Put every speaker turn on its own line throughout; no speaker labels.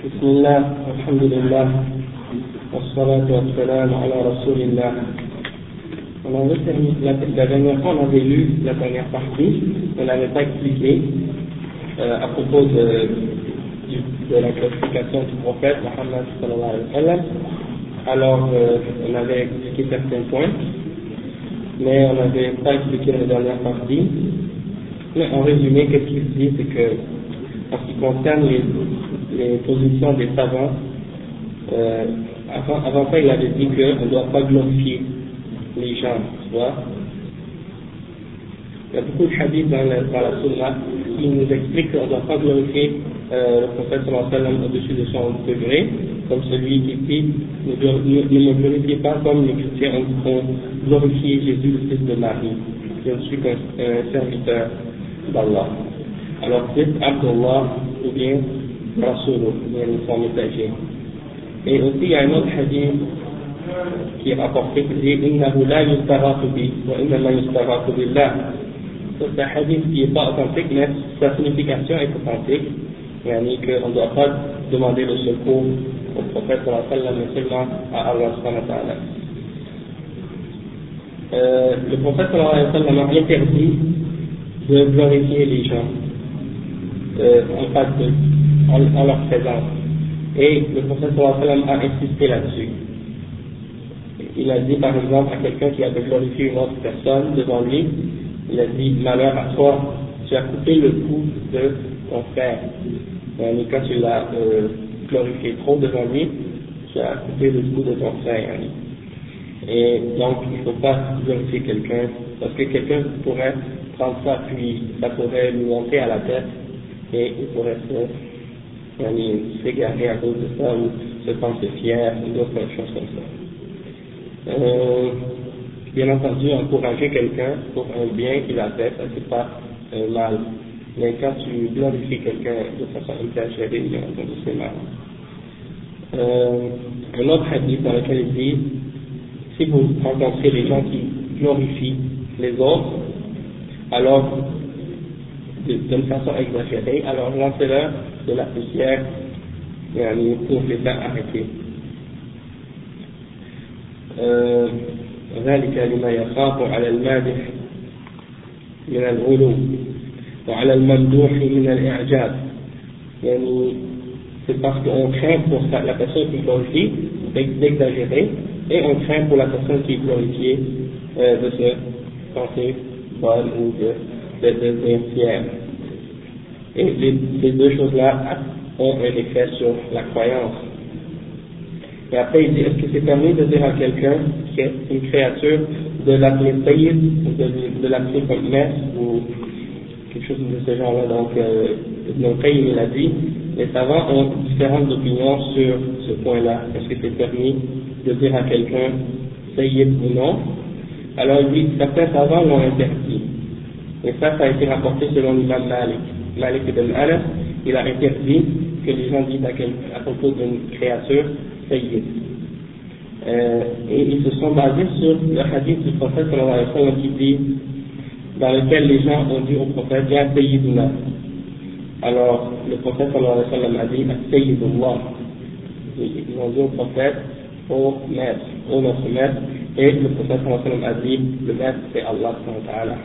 بسم الله الحمد لله والصلاة والسلام على رسول الله. La dernière fois, on avait lu la dernière partie, on n'avait pas expliqué à propos de la classification du prophète Mohammed sallallahu alayhi wa sallam. Alors, on avait expliqué certains points, mais on n'avait pas expliqué la dernière partie. Mais en résumé, qu'est-ce qu'il dit, c'est que en ce qui concerne les positions des savants, avant ça, il avait dit qu'on ne doit pas glorifier les gens, tu vois. Il y a beaucoup de hadiths dans la sunna qui nous expliquent qu'on ne doit pas glorifier le prophète sallallahu alayhi wa sallam au-dessus de son degré, comme celui qui dit ne me glorifiez pas comme les chrétiens ont glorifié Jésus, le fils de Marie. Je ne suis qu'un serviteur d'Allah. Alors dites Abdullah ou bien Rasulullah, ou bien son messager. Et aussi il y a un autre hadith qui est rapporté qui dit Innahu la yustaratu bi wa innama yustaratu billah. C'est un hadith qui n'est pas authentique, mais sa signification est authentique. C'est-à-dire qu'on ne doit pas demander le secours au prophète sallallahu alayhi wa sallam, mais seulement à Allah subhanahu wa ta'ala. Le prophète sallallahu alayhi wa sallam a interdit de glorifier les gens en leur présence. Et le prophète sallallahu alayhi wa sallam a insisté là-dessus. Il a dit par exemple à quelqu'un qui avait glorifié une autre personne devant lui, il a dit malheur à toi, tu as coupé le cou de ton frère. Et quand tu l'as glorifié trop devant lui, tu as coupé le cou de ton frère. Et donc il ne faut pas glorifier quelqu'un, parce que quelqu'un pourrait prendre ça, puis ça pourrait lui monter à la tête, et il pourrait s'égarer à cause de ça, ou se penser fier, ou d'autres choses comme ça. Bien entendu, encourager quelqu'un pour un bien qu'il a fait, ça c'est pas mal. Mais quand tu glorifies quelqu'un de façon exagérée, bien entendu, c'est mal. Un autre hadith dans lequel il dit, si vous rencontrez les gens qui glorifient les autres, alors d'une façon exagérée, alors lancez-leur de la poussière pour les faire arrêter. ذلك لما يخاف على المادح من الغلو وعلى الممدوح من الإعجاب. C'est parce qu'on craint pour la personne qui glorifie d'exagérer, et on craint pour la personne qui est glorifiée de se penser bonne ou de devenir fière. Et ces deux choses-là ont un effet sur la croyance. Et après il dit, est-ce que c'est permis de dire à quelqu'un qui est une créature de l'appeler Sayyid, ou de l'appeler comme maître, ou quelque chose de ce genre-là? Donc Ibn al-Qayyim il a dit, les savants ont différentes opinions sur ce point-là. Est-ce que c'est permis de dire à quelqu'un Sayyid ou non? Alors il dit, certains savants l'ont interdit. Et ça a été rapporté selon l'imam Malik ibn Anas. Il a interdit que les gens disent à propos d'une créature Sayyid. Et ils se sont basés sur le hadith du prophète sallallahu alayhi wa sallam qui dit, dans lequel les gens ont dit au prophète Ya Sayyiduna. Alors le prophète sallallahu alayhi wa sallam a dit Sayyidullah. Ils ont dit au prophète ô maître, ô notre maître, et le prophète sallallahu alayhi wa sallam a dit le maître c'est Allah subhanahu wa ta'ala.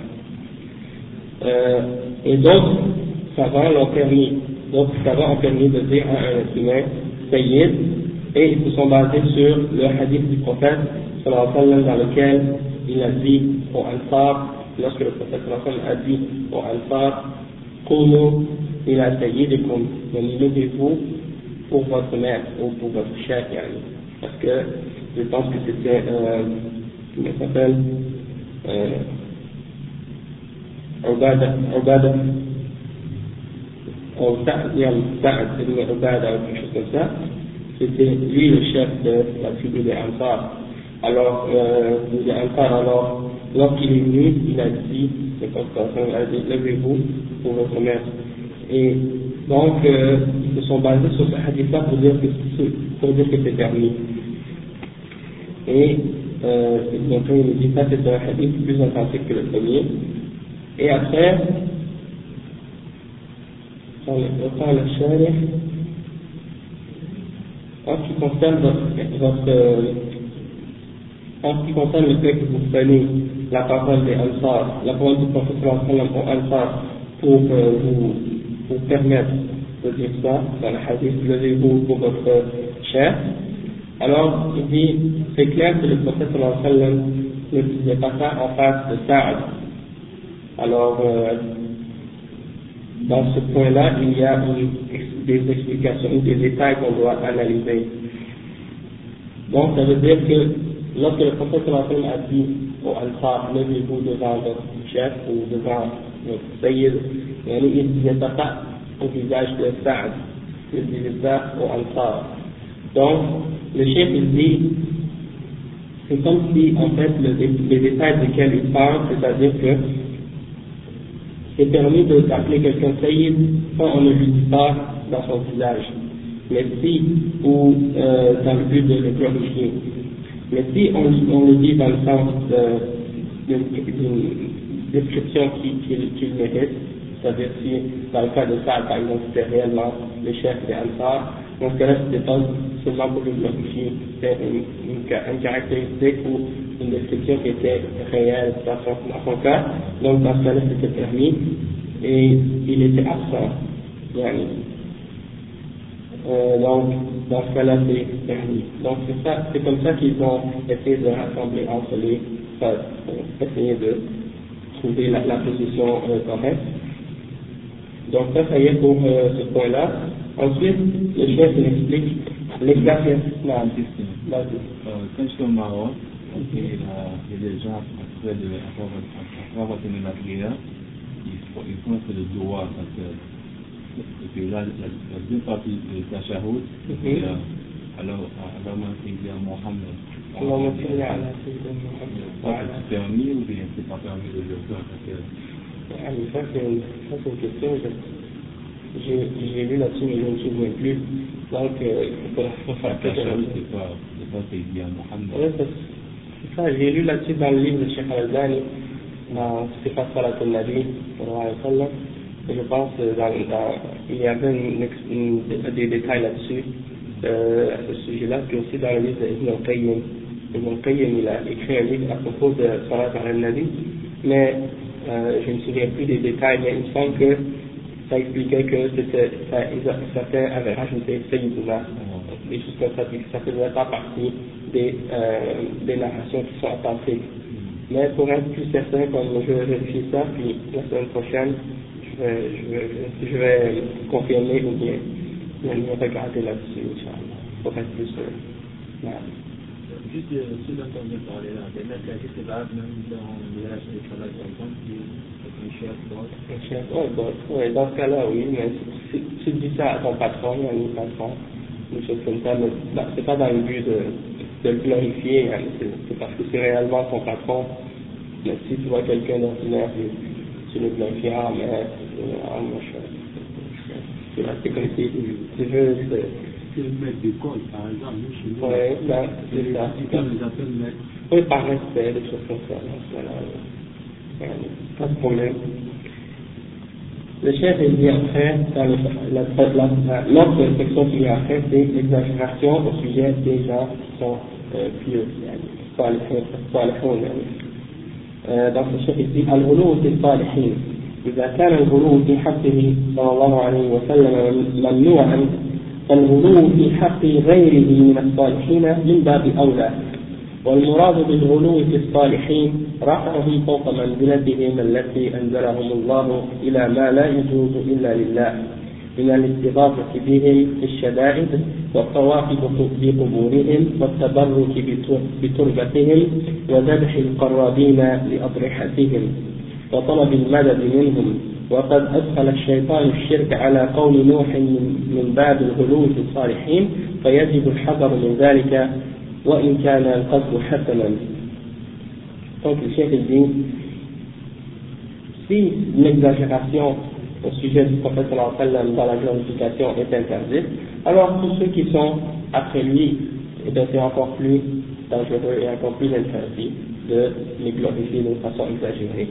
Et d'autres savants l'ont permis, d'autres savants ont permis de dire à un être humain Sayyid, et ils se sont basés sur le hadith du prophète sallallahu alayhi wa sallam dans lequel il a dit au Ansar, lorsque le prophète sallallahu alayhi wa sallam a dit au Ansar Qumu ila sayyidikum, levez-vous pour votre maître ou pour votre chef, parce que je pense que c'était comment ça s'appelle Ubada ou Sa'd ibn Ubada ou quelque chose comme ça. C'était lui le chef de la tribu des Ansar. Alors, les Ansar, alors, lorsqu'il est venu, il a dit, levez-vous pour votre maître. Et donc, ils se sont basés sur ce hadith-là pour dire que c'est permis. Et donc, il dit ça, c'est un hadith plus authentique que le premier. Et après, وقال الشارح En ce qui concerne en ce qui concerne le fait que vous prenez la parole des Ansar, la parole du prophète sallallahu alayhi wa sallam aux Ansar pour vous permettre de dire ça, dans le hadith, levez-vous pour votre chef, alors il dit, c'est clair que le prophète sallallahu alayhi wa sallam ne disait pas ça en face de Saad. Alors, dans ce point-là, il y a des explications, des détails qu'on doit analyser. Donc, ça veut dire que lorsque le prophète sallallahu alayhi wa sallam a dit au Ansar, levez-vous devant votre chef ou devant votre sayyid, il ne disait pas ça au visage de Saad, il disait ça au Ansar. Donc, le chef il dit, c'est comme si en fait les détails desquels il parle, c'est-à-dire que c'est permis d'appeler quelqu'un sayyid quand on ne lui dit pas dans son visage, mais si, ou dans le but de le glorifier. Mais si on le dit dans le sens d'une description qu'il mérite, c'est-à-dire si dans le cas de ça, par exemple, c'était réellement le chef des Ansar, dans ce cas-là, c'était pas seulement pour le glorifier, c'était une caractéristique ou une description qui était réelle dans son cas, donc dans ce cas-là, c'était permis, et il était absent. Donc, dans ce cas-là, c'est permis. Donc, c'est comme ça qu'ils ont essayé de rassembler entre les phases, pour essayer de trouver la position correcte. Donc, ça y est pour ce point-là. Ensuite, le chef il explique l'exagération.
Quand je suis au Maroc, il y a des gens, après avoir terminé la prière, ils font un peu de doigt, parce que et puis là, la deuxième partie de la chahoud, alors moi, c'est dire Mohammed. C'est permis ou bien c'est pas permis de le faire?
Ça, c'est une question. J'ai lu là-dessus, mais je ne me souviens plus. Donc, il faut faire quelque chose.
C'est pas c'est dire Mohammed.
Oui, c'est ça. J'ai lu là-dessus dans le livre de Cheikh Al-Albani, dans Sifat Salat al-Nabi, je pense il y avait des détails là-dessus, à ce sujet-là, puis aussi dans le livre d'Ibn al-Qayyim. Ibn al-Qayyim, il a écrit un livre à propos de Salat al-Nabi, mais je ne me souviens plus des détails, mais il me semble que ça expliquait que certains avaient rajouté Sayyidina, des choses comme ça, puis ça ne faisait pas partie des narrations qui sont authentiques. Mais pour être plus certain, comme je vais vérifier ça, puis la semaine prochaine, je vais confirmer ou bien regarder là-dessus, Inch'Allah, pour être plus sûr.
Juste ce dont on vient de parler là, des mecs qui se battent même dans les relations de travail, par exemple, qui est un chef, boss.
Un chef, oui, dans ce cas-là, oui, mais si tu dis ça à ton patron, à un patron, des choses comme ça, mais c'est pas dans le but de le glorifier, hein, c'est parce que c'est réellement ton patron. Mais si tu vois quelqu'un d'ordinaire, tu le glorifies, mais moi c'est comme si tu veux.
C'est le maître d'école, par exemple, nous chez nous.
Oui, c'est ça.
On les appelle maîtres.
Oui, par respect, des choses comme ça. Pas de problème. Le chef il dit après, dans l'autre section qui vient après, c'est l'exagération au sujet des gens qui sont pieux. Donc le chef il dit الغلو في الصالحين إذا كان الغلو في حقه صلى الله عليه وسلم ممنوعا فالغلو في حق غيره من الصالحين من باب أولى والمراد بالغلو في الصالحين رفعهم فوق منزلتهم التي أنزلهم الله إلى ما لا يجوز إلا لله من الاستغاثة بهم في الشدائد والطواف بقبورهم والتبرك بتربتهم وذبح القرابين لأضرحتهم وطلب المدد منهم وقد أدخل الشيطان الشرك على قول نوح من باب الغلو في الصالحين فيجب الحذر من ذلك وإن كان القصد حسنا. Donc le chef dit, si l'exagération au sujet du prophète sallallahu alayhi wa sallam dans la glorification est interdite, alors tous ceux qui sont après lui, eh bien, c'est encore plus dangereux et encore plus interdit de les glorifier de façon exagérée.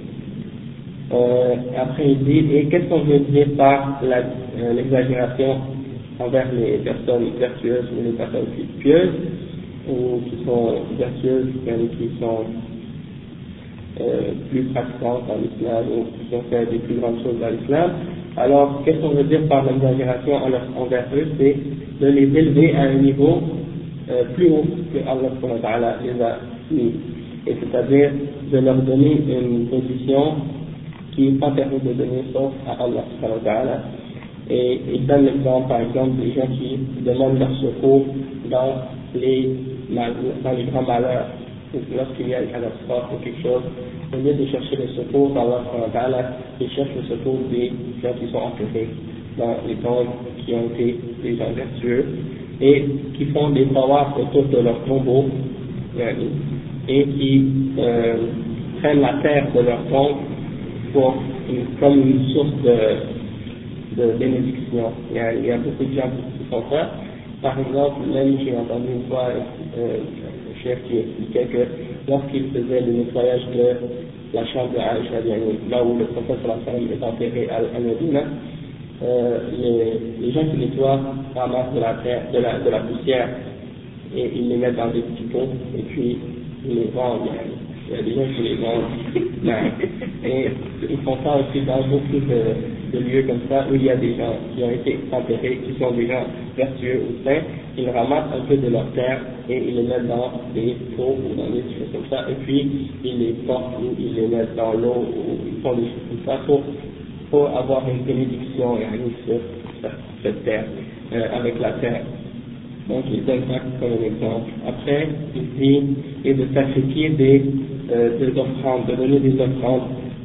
Après il dit, et qu'est-ce qu'on veut dire par l'exagération envers les personnes vertueuses ou les personnes pieuses, ou qui sont vertueuses, qui sont plus pratiquantes dans l'islam, ou qui ont fait des plus grandes choses dans l'islam. Alors, qu'est-ce qu'on veut dire par l'exagération envers eux? C'est de les élever à un niveau plus haut que Allah les a mis. Et c'est-à-dire de leur donner une position qui n'est pas permis de donner sauf à Allah. Et il donne l'exemple, par exemple, des gens qui demandent leur secours dans les grands malheurs, lorsqu'il y a une catastrophe ou quelque chose. Au lieu de chercher le secours d'Allah, ils cherchent le secours des gens qui sont enterrés dans les tombes, qui ont été des gens vertueux, et qui font des tawafs autour de leur tombeau, et qui prennent la terre de leur tombe comme une source de bénédiction. Il y a beaucoup de gens qui font ça. Par exemple, même j'ai entendu une fois un chef qui expliquait que lorsqu'il faisait le nettoyage de la chambre de Aïcha, là où le prophète est enterré à Médina, les gens qui nettoient ramassent de la terre, de la poussière, et ils les mettent dans des petits pots, et puis ils les vendent. Il y a des gens qui les vendent. Et ils font ça aussi dans beaucoup de lieux comme ça, où il y a des gens qui ont été enterrés, qui sont des gens vertueux ou saints. Ils ramassent un peu de leur terre et ils les mettent dans des pots ou dans des choses comme ça, et puis ils les portent ou ils les mettent dans l'eau, ou ils font des choses comme ça pour avoir une bénédiction sur cette terre, avec la terre. Donc il donne ça comme un exemple. Après, il dit, et de sacrifier des offrandes, de donner des offrandes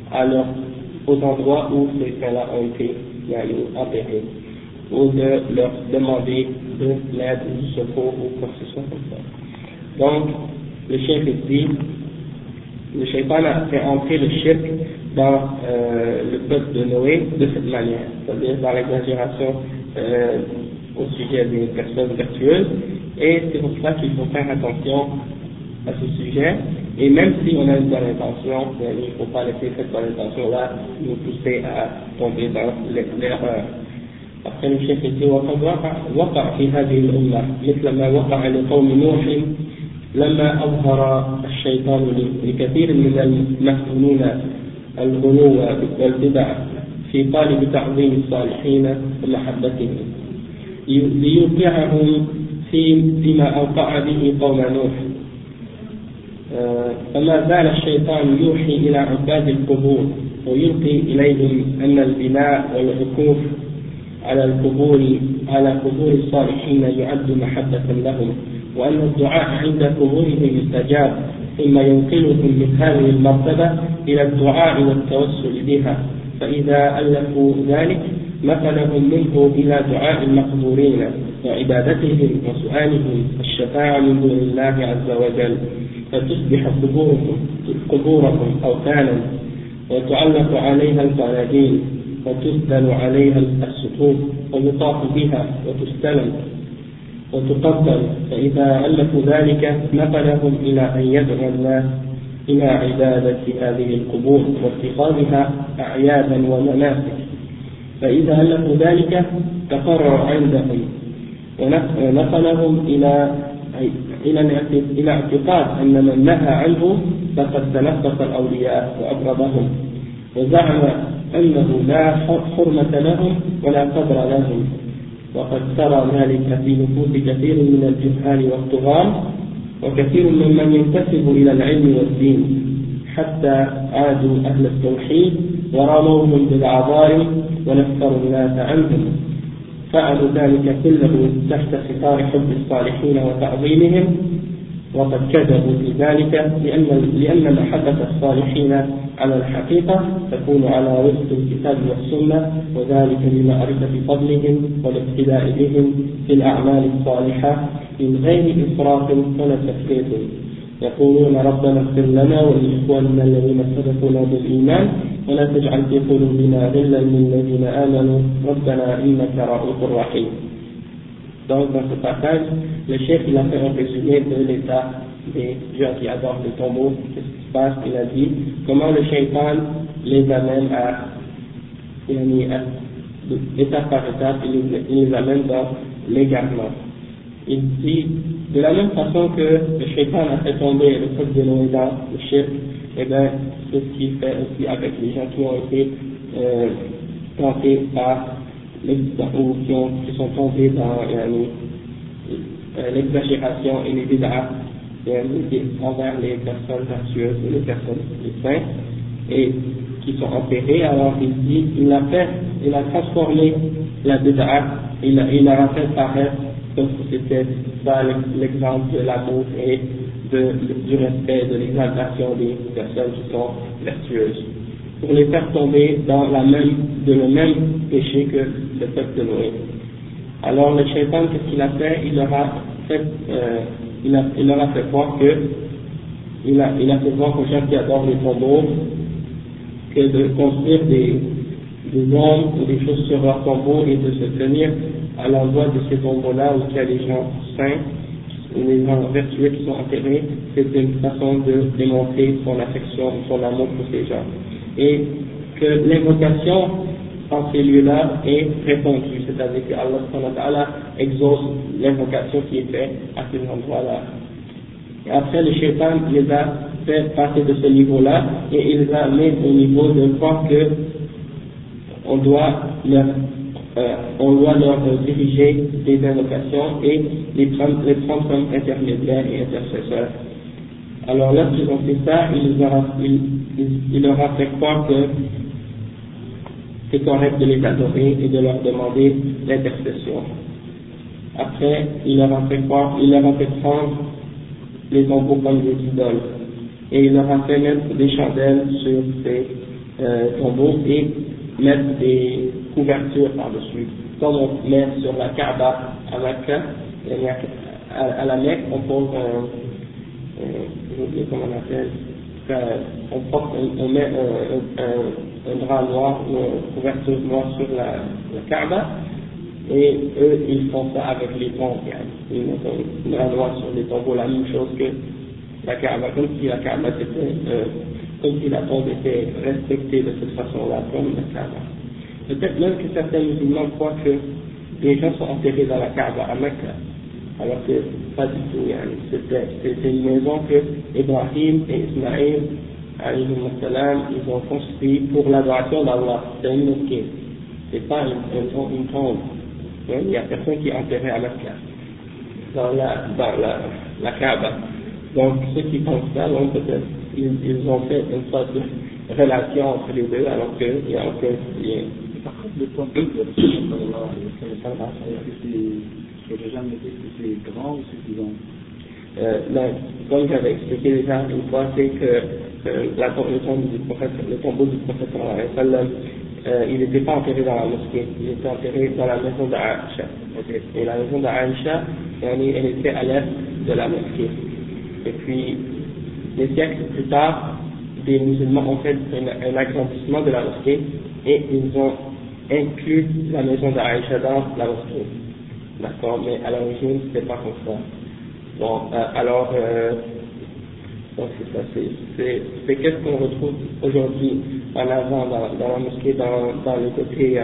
aux endroits où ces gens-là ont été enterrés, ou de leur demander de l'aide ou du secours ou quoi que ce soit comme ça. Donc, le chef dit, le shaitan a fait entrer le shirk dans le peuple de Noé de cette manière, c'est-à-dire dans l'exagération au sujet des personnes vertueuses, et c'est pour ça qu'il faut faire attention à ce sujet, et même si on a une bonne intention, il ne faut pas laisser cette bonne intention-là nous pousser à tomber dans l'erreur. Après le chef dit وقد وقع في هذه الأمة مثل ما وقع لقوم نوح لما أظهر الشيطان لكثير من المفتونين الغلو والبدع في قالب تعظيم الصالحين ومحبتهم ليوقعهم فيما أوقع به قوم نوح. فما زال الشيطان يوحي إلى عباد القبور ويلقي إليهم أن البناء والعكوف على قبور الصالحين يعد محبة لهم، وأن الدعاء عند قبورهم يستجاب، ثم ينقلهم من هذه المرتبة إلى الدعاء والتوسل بها، فإذا ألفوا ذلك نقلهم منه إلى دعاء المقبورين وعبادتهم وسؤالهم الشفاعة من دون الله عز وجل، فتصبح قبورهم أوثانا وتعلق عليها القناديل وتسدل عليها السطوح ويطاف بها وتستلم وتقبل، فإذا ألفوا ذلك نقلهم إلى أن يدعو الناس إلى عبادة هذه القبور واتخاذها أعيادا ومناسك، فإذا ألفوا ذلك تقرر عندهم ونقلهم إلى اعتقاد أن من نهى عنه فقد تنقص الأولياء وأبغضهم، وزعم أنه لا حرمة لهم ولا قدر لهم، وقد ترى ذلك في نفوس كثير من الجهال والطغاة وكثير ممن ينتسب إلى العلم والدين، حتى عادوا أهل التوحيد ورموهم بالعظائم ونفروا الناس عنهم، فعلوا ذلك كله تحت ستار حب الصالحين وتعظيمهم، وقد كذبوا في ذلك لأن محبة الصالحين على الحقيقة تكون على وفق الكتاب والسنة، وذلك لمعرفة فضلهم والاقتداء بهم في الأعمال الصالحة من غير إسراف ولا تفريط. يقولون ربنا اغفر لنا ولإخواننا الذين سبقونا بالإيمان ولا تجعل في قلوبنا غلا للذين آمنوا ربنا إنك رؤوف رحيم. Donc dans ce passage, le chef il a fait un résumé de l'état des gens qui adorent les tombeaux, qu'est-ce qui se passe, il a dit comment le shaitan les amène à étape par étape, il les amène dans l'égarement. Il dit, de la même façon que le shaitan a fait tomber le peuple de Noé dans le shirk, et bien, c'est ce qu'il fait aussi avec les gens qui ont été tentés par ou qui sont tombés dans l'exagération et les bid'ah envers les personnes vertueuses et les personnes les saints, et qui sont enterrés. Alors il dit, il a transformé la bid'ah, il a fait paraître comme si c'était ça l'exemple de l'amour et du respect, de l'exaltation des personnes qui sont vertueuses, pour les faire tomber dans le même péché que le peuple de Noé. Alors le shaitan, qu'est-ce qu'il a fait? Il leur a fait voir aux gens qui adorent les tombeaux que de construire des ombres ou des choses sur leurs tombeaux et de se tenir à l'endroit de ces tombeaux-là où il y a des gens saints ou les gens vertueux qui sont enterrés, c'est une façon de démontrer son affection, son amour pour ces gens. Et que l'invocation en ces lieux-là est répondue, c'est-à-dire que Allah exauce l'invocation qui est faite à ces endroits-là. Et après, le shaitan les a fait passer de ce niveau-là et il les a amenés au niveau de voir que on doit leur diriger des invocations et les prendre comme intermédiaires et intercesseurs. Alors lorsqu'ils ont fait ça, il leur a fait croire que c'est correct de les adorer et de leur demander l'intercession. Après, il leur a fait prendre les tombeaux comme des idoles. Et il leur a fait mettre des chandelles sur ces tombeaux et mettre des couvertures par-dessus. Comme on met sur la Kaaba à Mecca, à la Mecque, on pose j'ai oublié comment on appelle, on met un drap noir ou une couverture noire sur la Kaaba, et eux ils font ça avec les tombes, ils mettent un drap noir sur les tombeaux, la même chose que la Kaaba, comme si la Kaaba comme si la tombe était respectée de cette façon-là, comme la Kaaba. Peut-être même que certains musulmans croient que les gens sont enterrés dans la Kaaba à Mecca, alors que pas du tout. C'était une maison que Ibrahim et Ismaïl, ils ont construit pour l'adoration d'Allah. C'est une mosquée, c'est pas une tombe. Il n'y a personne qui est enterré à Mecca, dans la Kaaba. Donc ceux qui pensent ça, donc peut-être ils ont fait une sorte de relation entre les deux, alors qu'il n'y a aucun lien.
Par contre, le temple de Allah, j'ai jamais dit que c'est grand ou suffisant.
Comme j'avais expliqué déjà une fois, c'est que le tombeau du prophète il n'était pas enterré dans la mosquée, il était enterré dans la maison d'Aïcha. Et la maison d'Aïcha, elle était à l'est de la mosquée. Et puis, des siècles plus tard, des musulmans ont fait un agrandissement de la mosquée et ils ont inclus la maison d'Aïcha dans la mosquée. D'accord, mais à l'origine, c'était pas comme ça. Bon, donc c'est ça, c'est qu'est-ce qu'on retrouve aujourd'hui en avant dans la mosquée, dans le côté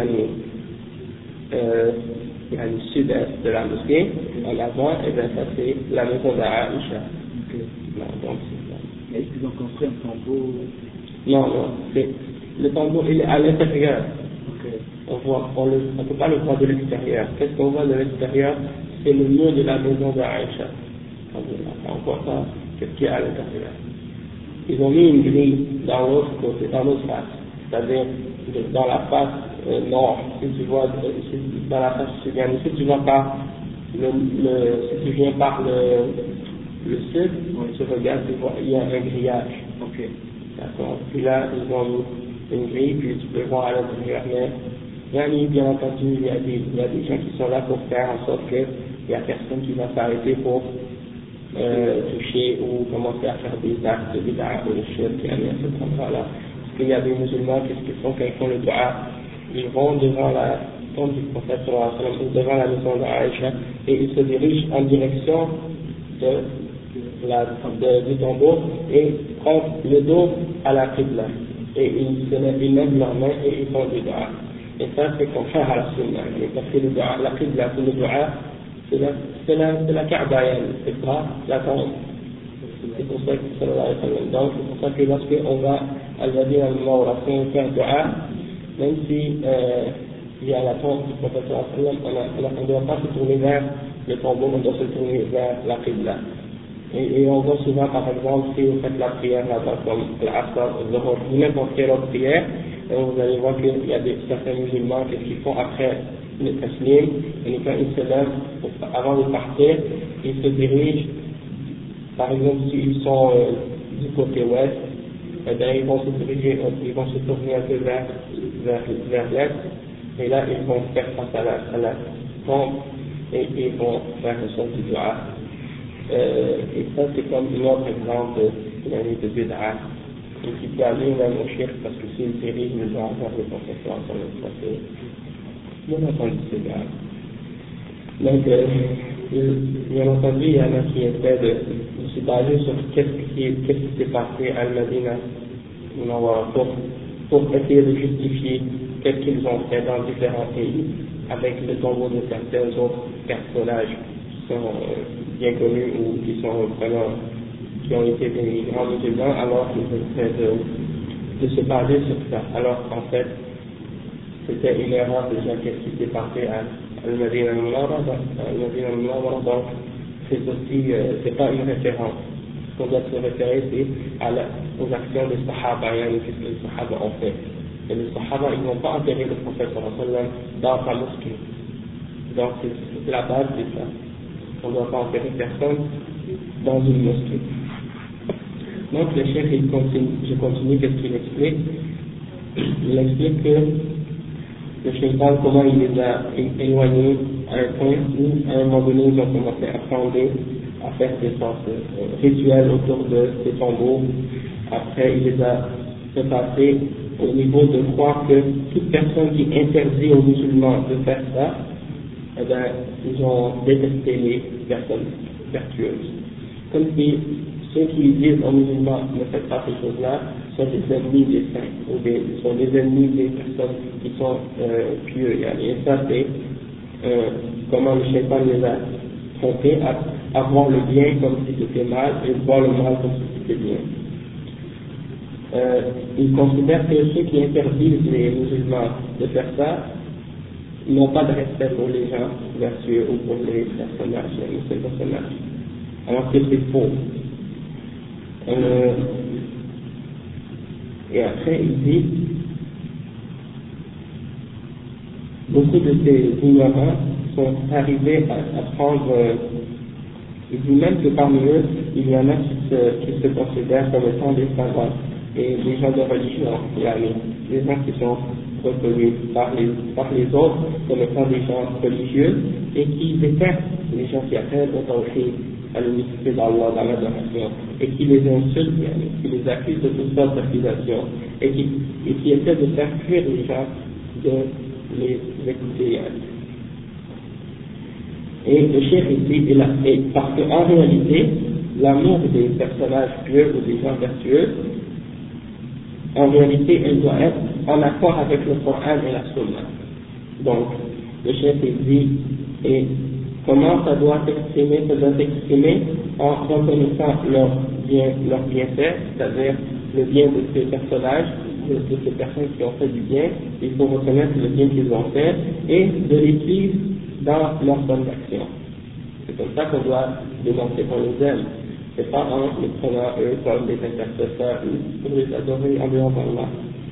sud-est de la mosquée, en avant, et bien ça c'est la maison d'Aïcha. Donc c'est ça.
Est-ce qu'ils ont construit un tombeau?
Non, le tombeau il est à l'intérieur.
Okay.
On ne peut pas le voir de l'extérieur. Qu'est-ce qu'on voit de l'extérieur? C'est le mur de la maison d'Aïcha. On ne voit pas ce qu'il y a à l'intérieur. Ils ont mis une grille dans l'autre côté, dans l'autre face, c'est-à-dire dans la face nord. Si tu vois dans la face sud, si tu vas par si tu viens par le sud, tu regardes, tu vois, il y a un grillage.
Okay.
D'accord. Puis là, ils ont mis une grille, puis tu peux voir à l'intérieur. Mais bien entendu, il y a des gens qui sont là pour faire en sorte qu'il n'y a personne qui va s'arrêter pour toucher ou commencer à faire des actes de bid'ah ou de shirk à cet endroit-là. Parce qu'il y a des musulmans, qu'est-ce qu'ils font quand ils font le dua? Ils vont devant la tombe du prophète ou devant la maison d'Aïcha et ils se dirigent en direction du tombeau et prennent le dos à la qibla. Et ils lèvent leurs mains et ils font du dua. Et ça, c'est contraire à la sunna. Parce que le dua, la qibla, le dua, c'est la Kaaba, c'est pas la tombe. C'est pour ça que sallallahu alayhi wa sallam. Donc, c'est pour ça que lorsqu'on va à Al-Madina al-Munawwara, si on fait un dua, même si il y a la tombe du prophète sallallahu alayhi wa sallam, on ne doit pas se tourner vers le tombeau, on doit se tourner vers la qibla. Et on voit souvent, par exemple, si vous faites la prière là-bas, comme l'Asr, ou n'importe quelle autre prière, vous allez voir qu'il y a certains musulmans qui font après le taslim, et quand ils se lèvent, avant de partir, ils se dirigent, par exemple, s'ils sont du côté ouest, eh bien, ils vont se tourner un peu vers l'est, et là, ils vont faire face à la tombe, et ils vont faire le son du dua. Et ça, c'est comme un autre exemple de bid'a, et qui peut aller même au shirk, parce que s'il dirige le dua vers le professeur, ça c'est bien entendu, c'est grave. Donc, bien entendu, il y en a qui essaient de se baser sur qu'est-ce qui s'est passé à Al-Madina pour essayer de justifier qu'est-ce qu'ils ont fait dans différents pays avec le tombeau de certains autres personnages qui sont bien connus ou qui sont vraiment qui ont été des grands musulmans, alors qu'ils essaient de se baser sur ça. Alors qu'en fait, c'était une erreur déjà qu'est-ce qui s'est passé à Al-Madina al-Munawwara, donc c'est aussi, c'est pas une référence. Ce qu'on doit se référer, c'est aux actions des Sahaba, qu'est-ce que les Sahaba ont fait. Et les Sahaba, ils n'ont pas enterré le prophète dans sa mosquée. Donc c'est la base, c'est ça. On ne doit pas enterrer personne dans une mosquée. Donc le chef, je continue, qu'est-ce qu'il explique? Il explique que le shaitan, comment il les a éloignés à un point où, à un moment donné, ils ont commencé à fonder, à faire des sortes rituels autour de ces tombeaux. Après, il les a fait passer au niveau de croire que toute personne qui interdit aux musulmans de faire ça, eh bien, ils ont détesté les personnes vertueuses. Comme si ceux qui disent aux musulmans ne faites pas ces choses-là sont des ennemis des saints, ou sont des ennemis des personnes qui sont pieux. Et ça, c'est comment le shaitan les a trompés à voir le bien comme si c'était mal et voir le mal comme si c'était bien. Ils considèrent que ceux qui interdisent les musulmans de faire ça n'ont pas de respect pour les gens vertueux ou pour les personnages, ces personnages. Alors que c'est faux. Et après, il dit, beaucoup de ces ignorants sont arrivés à prendre, il dit même que parmi eux, il y en a qui se considèrent comme étant des savants et des gens de religion, des gens qui sont reconnus par les autres comme étant des gens religieux et qui détestent les gens qui appellent au tawhid, à l'unicité d'Allah dans l'adoration, et qui les insultent, qui les accusent de toutes sortes d'accusations, et qui essaient de faire fuir les gens de les écouter. Et le chef ici, parce qu'en réalité, l'amour des personnages pieux ou des gens vertueux, en réalité, elle doit être en accord avec le Coran et la Sunna. Donc, le chef dit, et comment ça doit s'exprimer? Ça doit s'exprimer en reconnaissant leur bienfait, c'est-à-dire le bien de ces personnages, de ces personnes qui ont fait du bien. Il faut reconnaître le bien qu'ils ont fait et de les suivre dans leurs bonnes actions. C'est comme ça qu'on doit démontrer qu'on les aime. C'est pas en les prenant eux comme des intercesseurs ou pour les adorer en dehors d'Allah.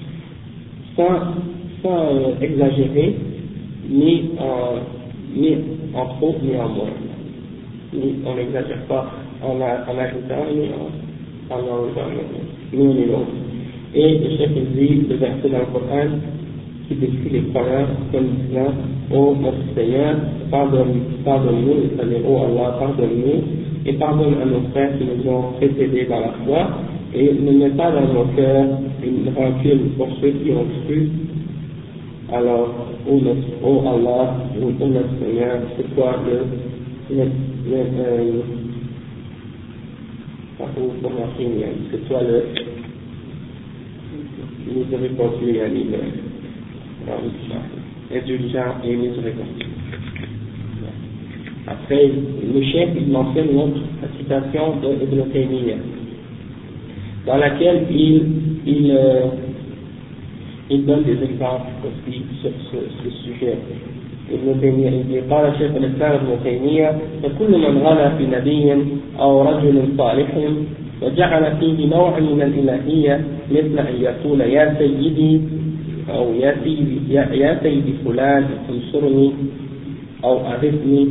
Sans exagérer, ni en trop, ni en moins. On n'exagère pas en ajoutant, ni en enlevant, ni l'un ni l'autre. Et le chef dit le verset dans le Coran qui décrit les croyants comme disant: ô notre Seigneur, pardonne-nous, c'est-à-dire ô Allah, pardonne-nous, et pardonne à nos frères qui nous ont précédés dans la foi, et ne mets pas dans nos cœurs une rancune pour ceux qui ont cru. Alors, ô Allah, ô notre Seigneur, c'est toi c'est toi le miséricordieux, indulgent et miséricordieux. Après, le chef il mentionne une autre citation de Ibn Taymiyyah, dans laquelle il donne des exemples aussi sur ce sujet. ابن تيمية قال شيخ الإسلام ابن تيمية فكل من غلا في نبي أو رجل صالح وجعل فيه نوع من الإلهية مثل أن يقول يا سيدي أو يا سيدي فلان انصرني أو أغثني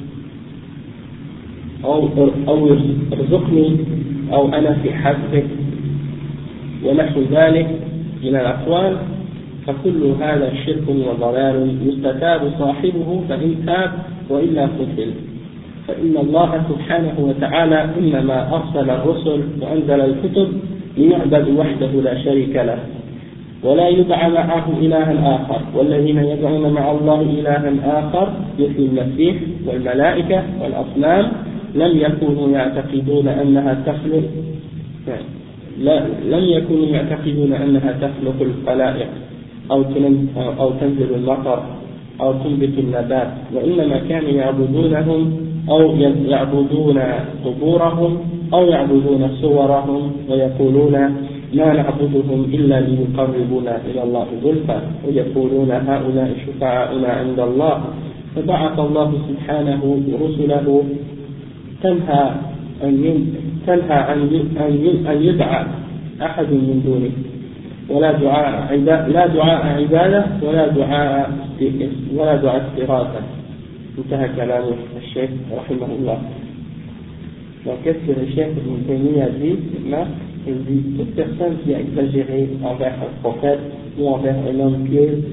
أو ارزقني أو أنا في حسبك ونحو ذلك من الأقوال فكل هذا شرك وضلال يستتاب صاحبه فإن تاب وإلا قتل فإن الله سبحانه وتعالى إنما أرسل الرسل وأنزل الكتب ليعبد وحده لا شريك له ولا يدعى معه إلها آخر والذين يدعون مع الله إلها آخر مثل المسيح والملائكة والأصنام لم يكونوا يعتقدون أنها تخلق الخلائق أو تنزل المطر أو تنبت النبات وإنما كانوا يعبدونهم أو يعبدون قبورهم أو يعبدون صورهم ويقولون ما نعبدهم إلا ليقربونا إلى الله زلفى ويقولون هؤلاء شفعاؤنا عند الله فبعث الله سبحانه رسله تنهى أن يدعى أحد من دونه ولا دعاء عبادة ولا دعاء استغاثة. انتهى كلام الشيخ رحمه الله. Donc qu'est-ce que le chef Ibn Taymiyyah dit maintenant? Il dit toute personne qui a exagéré envers un prophète ou envers un homme pieux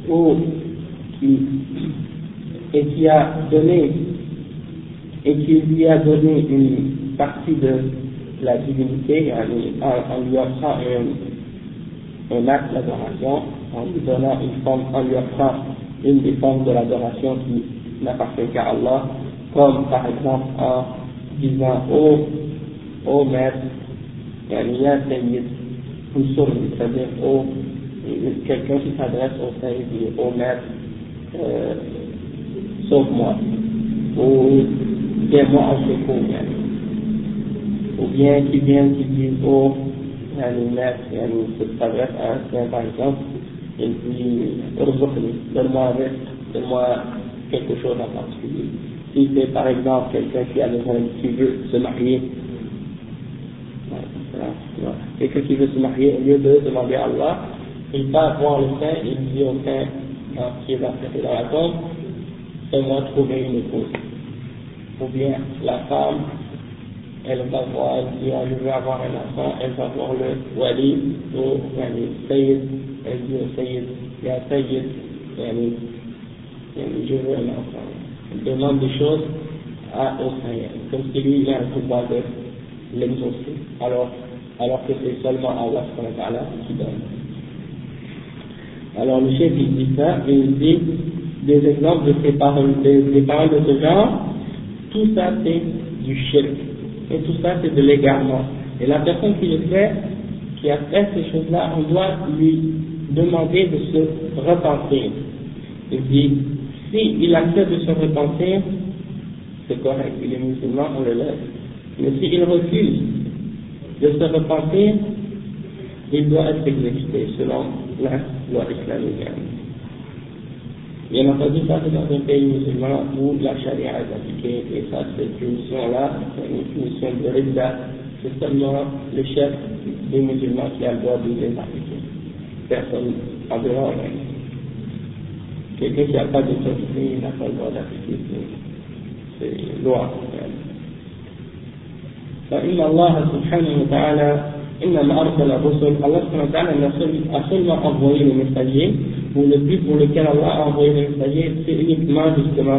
et qui lui a donné une partie de la divinité en lui offrant un acte d'adoration, en lui offrant une des formes de l'adoration qui n'appartient qu'à Allah, comme par exemple en disant ô maître, ya Sayyid, c'est-à-dire quelqu'un qui s'adresse au Sayyid, dit ô maître, sauve-moi, ou viens-moi en secours, ou bien qui dit ô maître, qui s'adresse à un saint par exemple, il dit donne-moi quelque chose en particulier. Si c'est par exemple quelqu'un qui veut se marier, quelqu'un qui veut se marier, au lieu de demander à Allah, il va voir le saint et il dit au saint qui est dans la tombe, fais-moi trouver une épouse. Ou bien la femme, elle dit je veux avoir un enfant, elle va voir le wali ou le sayyid, elle dit au sayyid, ya sayyid, je veux un enfant. Elle demande des choses au saint, comme si lui il a un pouvoir de l'exaucer, alors que c'est seulement Allah qui donne. Alors le chef il dit ça, et il dit des exemples de ces paroles, des paroles de ce genre, tout ça c'est du shirk, et tout ça c'est de l'égarement. Et la personne qui a fait ces choses-là, on doit lui demander de se repentir. Il dit, si il accepte de se repentir, c'est correct, il est musulman, on le laisse. Mais s'il refuse de se repentir, il doit être exécuté selon la loi islamique. Bien entendu, ça c'est dans un pays musulman où la charia est appliquée, et ça, cette punition-là, c'est une punition de ridda, c'est seulement le chef des musulmans qui a le droit de les appliquer. Personne en dehors. Quelqu'un qui n'a pas d'autorité, il n'a pas le droit d'appliquer ces lois. فإن الله سبحانه وتعالى إنما أرسل الرسل. Allah سبحانه وتعالى a seulement envoyé les messagers, ou le but pour lequel Allah a envoyé les messagers, c'est uniquement justement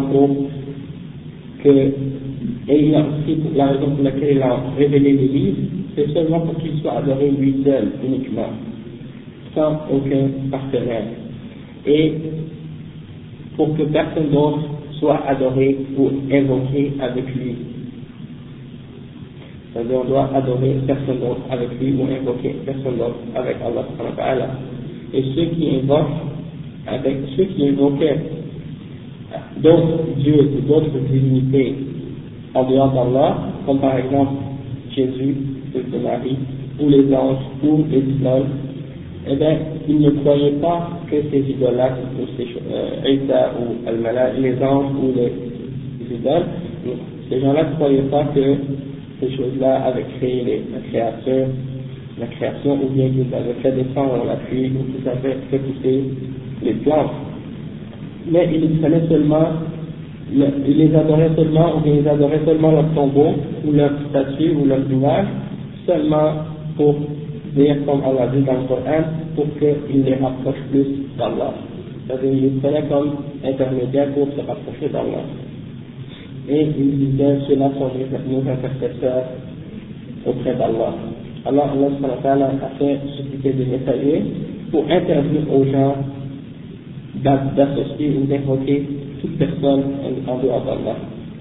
et la raison pour laquelle il a révélé les livres, c'est seulement pour qu'il soit adoré lui seul uniquement, sans aucun partenaire, et pour que personne d'autre soit adoré ou invoqué avec lui. C'est-à-dire on doit adorer personne d'autre avec lui ou invoquer personne d'autre avec Allah subhanahu wa ta'ala. Et ceux qui invoquent avec ceux qui invoquaient d'autres dieux ou d'autres divinités en dehors d'Allah, comme par exemple Jésus, fils de Marie, ou les anges, ou les idoles, eh bien, ils ne croyaient pas que ces idolâtres, ou ces Isa ou Al-Mala, les anges ou les idoles, ces gens-là ne croyaient pas que ces choses-là avaient créé la création, ou bien qu'ils avaient fait descendre la pluie, ou qu'ils avaient fait pousser les plantes. Mais ils prenaient seulement, ils les adoraient seulement, ou bien ils adoraient seulement leur tombeau, ou leur statue, ou leur image, seulement pour dire, comme Allah dit dans le Coran, pour qu'ils les rapprochent plus d'Allah. C'est-à-dire, ils les prenaient comme intermédiaires pour se rapprocher d'Allah. Et ils disaient, ceux-là sont nos intercesseurs auprès d'Allah. Alors, Allah a fait susciter des messagers pour interdire aux gens d'associer ou d'invoquer toute personne en dehors d'Allah.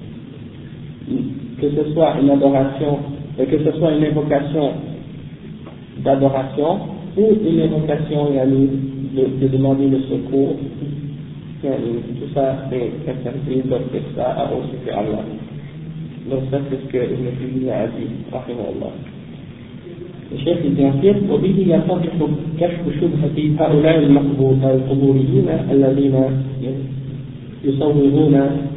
Que ce soit une adoration, que ce soit une invocation d'adoration ou une invocation de demander le secours, tout ça c'est interdit d'offrir ça à autre que Allah. Donc ça c'est ce que Ibn Taymiyyah a dit, rahimahullah. الشيخ الجنسير وبه يتضح كشف شبهة هؤلاء القبوريين الذين يصورون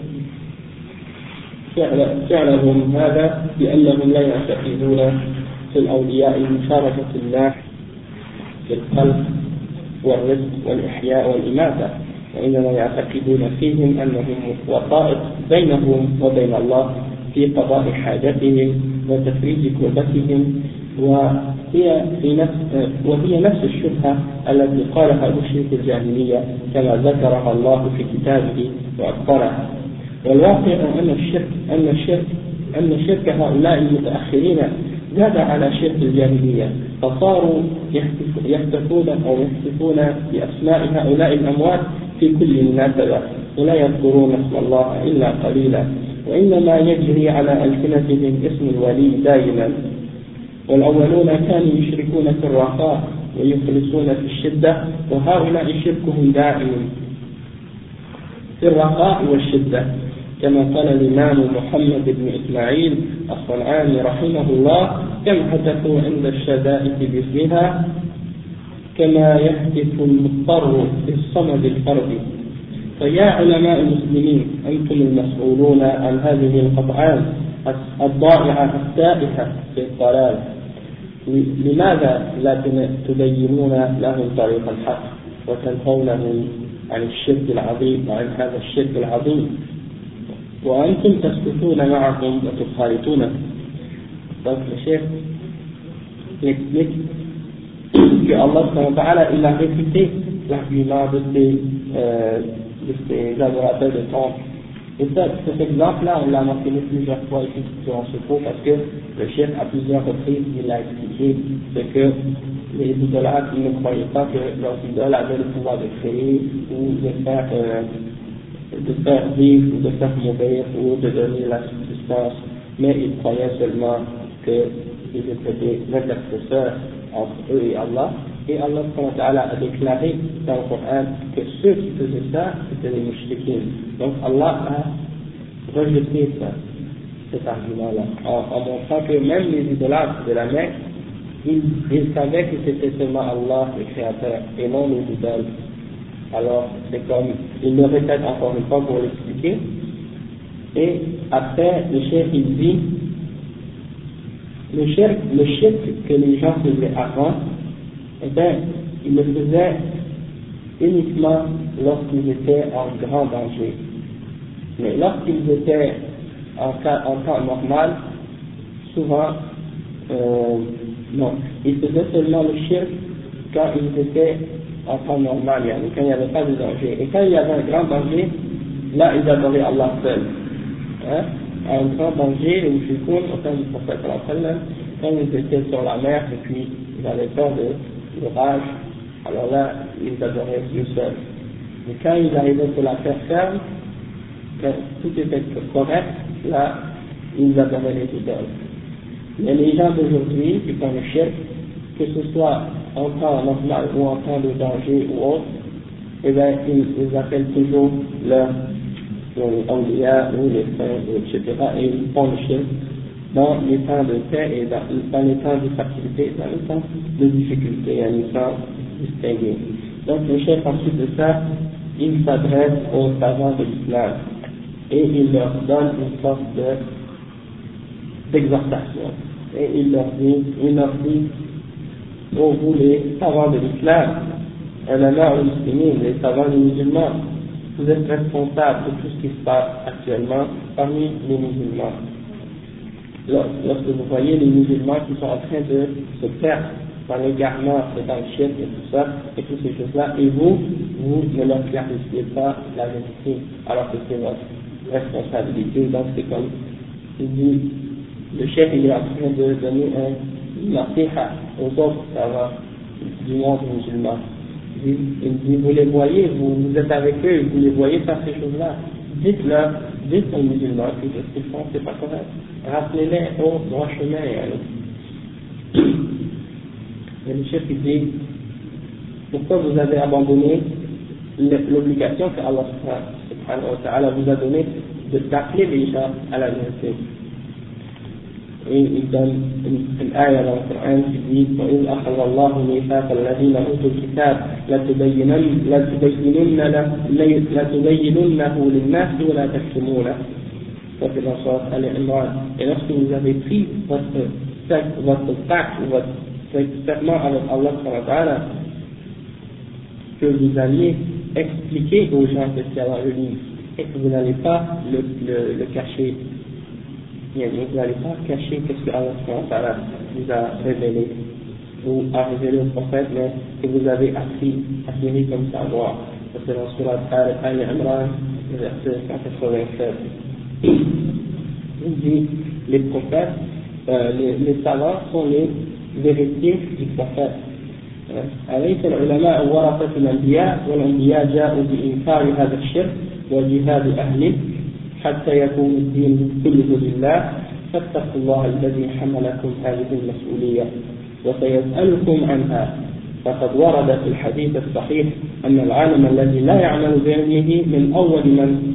فعلهم هذا بأنهم لا يعتقدون في الأولياء مشاركة الله في الخلق والرزق والإحياء والإماتة، وإنما يعتقدون فيهم أنهم وسائط بينهم وبين الله في قضاء حاجتهم وتفريج كربتهم، وهي نفس الشبهة التي قالها مشرك الجاهلية كما ذكرها الله في كتابه وأخبرها. والواقع أن شرك هؤلاء المتأخرين زاد على شرك الجاهلية، فصاروا يحتفون بأسماء هؤلاء الأموات في كل مناسبة ولا يذكرون اسم الله إلا قليلا، وإنما يجري على ألسنتهم اسم الولي دائما. والأولون كانوا يشركون في الرخاء ويخلصون في الشدة، وهؤلاء شركهم دائم في الرخاء والشدة، كما قال الإمام محمد بن إسماعيل الصنعاني رحمه الله: كم هتفوا عند الشدائد باسمها كما يهتف المضطر بالصمد الفرد. فيا علماء المسلمين، أنتم المسؤولون عن هذه القطعان الضائعة التائهة في الضلال، لماذا لا تبينون لهم طريق الحق وتنهونهم عن الشرك العظيم وعن هذا الشرك العظيم وأنتم تسكتون معهم وتخالطونهم؟ Donc le chef explique que Allah il a réfuté l'argument de ces adorateurs de temples. Et ça, cet exemple-là, on l'a mentionné plusieurs fois ici durant ce cours, parce que le chef, à plusieurs reprises, il a expliqué ce que les idolâtres ne croyaient pas que leurs idoles avaient le pouvoir de créer ou de faire vivre ou de faire mourir ou de donner la subsistance, mais ils croyaient seulement qu'ils étaient des intercesseurs entre eux et Allah. Et Allah a déclaré dans le Coran que ceux qui faisaient ça, c'était les mushrikins. Donc Allah a rejeté cet argument-là, en montrant que même les idolâtres de la Mecque, ils savaient que c'était seulement Allah le Créateur et non les idoles. Alors c'est comme, il le répète encore une fois pour l'expliquer. Et après, le chef il dit, le shirk que les gens faisaient avant, eh bien, ils le faisaient uniquement lorsqu'ils étaient en grand danger. Mais lorsqu'ils étaient en temps normal, souvent, non, ils faisaient seulement le shirk quand ils étaient en temps normal, quand il n'y avait pas de danger. Et quand il y avait un grand danger, là, ils adoraient Allah seul. Hein? À un grand danger, les mushrikoun, au temps du prophète, quand ils étaient sur la mer et puis ils avaient peur de l'orage, alors là, ils adoraient Dieu seul. Mais quand ils arrivaient sur la terre ferme, quand tout était correct, là, ils adoraient les idoles. Mais les gens d'aujourd'hui, qui font le shirk, que ce soit en temps normal ou en temps de danger ou autre, et bien ils appellent toujours leurs awliya ou les saints, etc. et ils font le shirk dans les temps de paix et dans les temps de facilité, dans les temps de difficulté, à les temps distingués. Donc le chef ensuite de ça, il s'adresse aux savants de l'islam et il leur donne une sorte d'exhortation. Et il leur dit, oh vous les savants de l'islam, les savants des musulmans, vous êtes responsables de tout ce qui se passe actuellement parmi les musulmans. Lorsque vous voyez les musulmans qui sont en train de se perdre dans l'égarement et dans le shirk et tout ça, et toutes ces choses-là, et vous ne leur clarifiez pas la vérité, alors que c'est votre responsabilité. Donc c'est comme, il dit, le chef il est en train de donner un nasiha aux autres savants du monde musulman. Il dit, vous les voyez, vous êtes avec eux, vous les voyez faire ces choses-là. Dites aux musulmans que ce qu'ils font, c'est pas correct. Rappelez-les au droit chemin. Et le chef il dit, pourquoi vous avez abandonné l'obligation que Allah subhanahu wa ta'ala vous a donnée d'appeler les gens à la vérité. Et il donne une ayah dans le Coran qui dit وَإِذْ أَخَذَ اللَّهُ مِيثَاقَ الَّذِينَ أُوتُوا الْكِتَابَ لَتُبَيِّنُنَّهُ لِلنَّاسِ وَلَا تَكْتُمُونَهُ. Ça c'est dans Sourate Al-Imran. Et lorsque vous avez pris votre pacte ou votre serment avec Allah subhanahu wa ta'ala, que vous alliez expliquer aux gens ce qu'il y a dans le livre et que vous n'allez pas le cacher. Vous n'allez pas cacher ce que Allah vous a révélé ou a révélé au prophète, mais que vous avez acquis comme savoir. C'est dans Surat Al-Imran, verset 187. Il dit, les prophètes, les savants sont les véritiers du prophète. أليس العلماء ورثة الأنبياء والأنبياء جاءوا بإنكار هذا الشرك وجهاد أهله حتى يكون الدين كله لله فاتقوا الله الذي حملكم هذه المسؤولية وسيسألكم عنها. فقد ورد في الحديث الصحيح أن العالم الذي لا يعمل بعلمه من أول من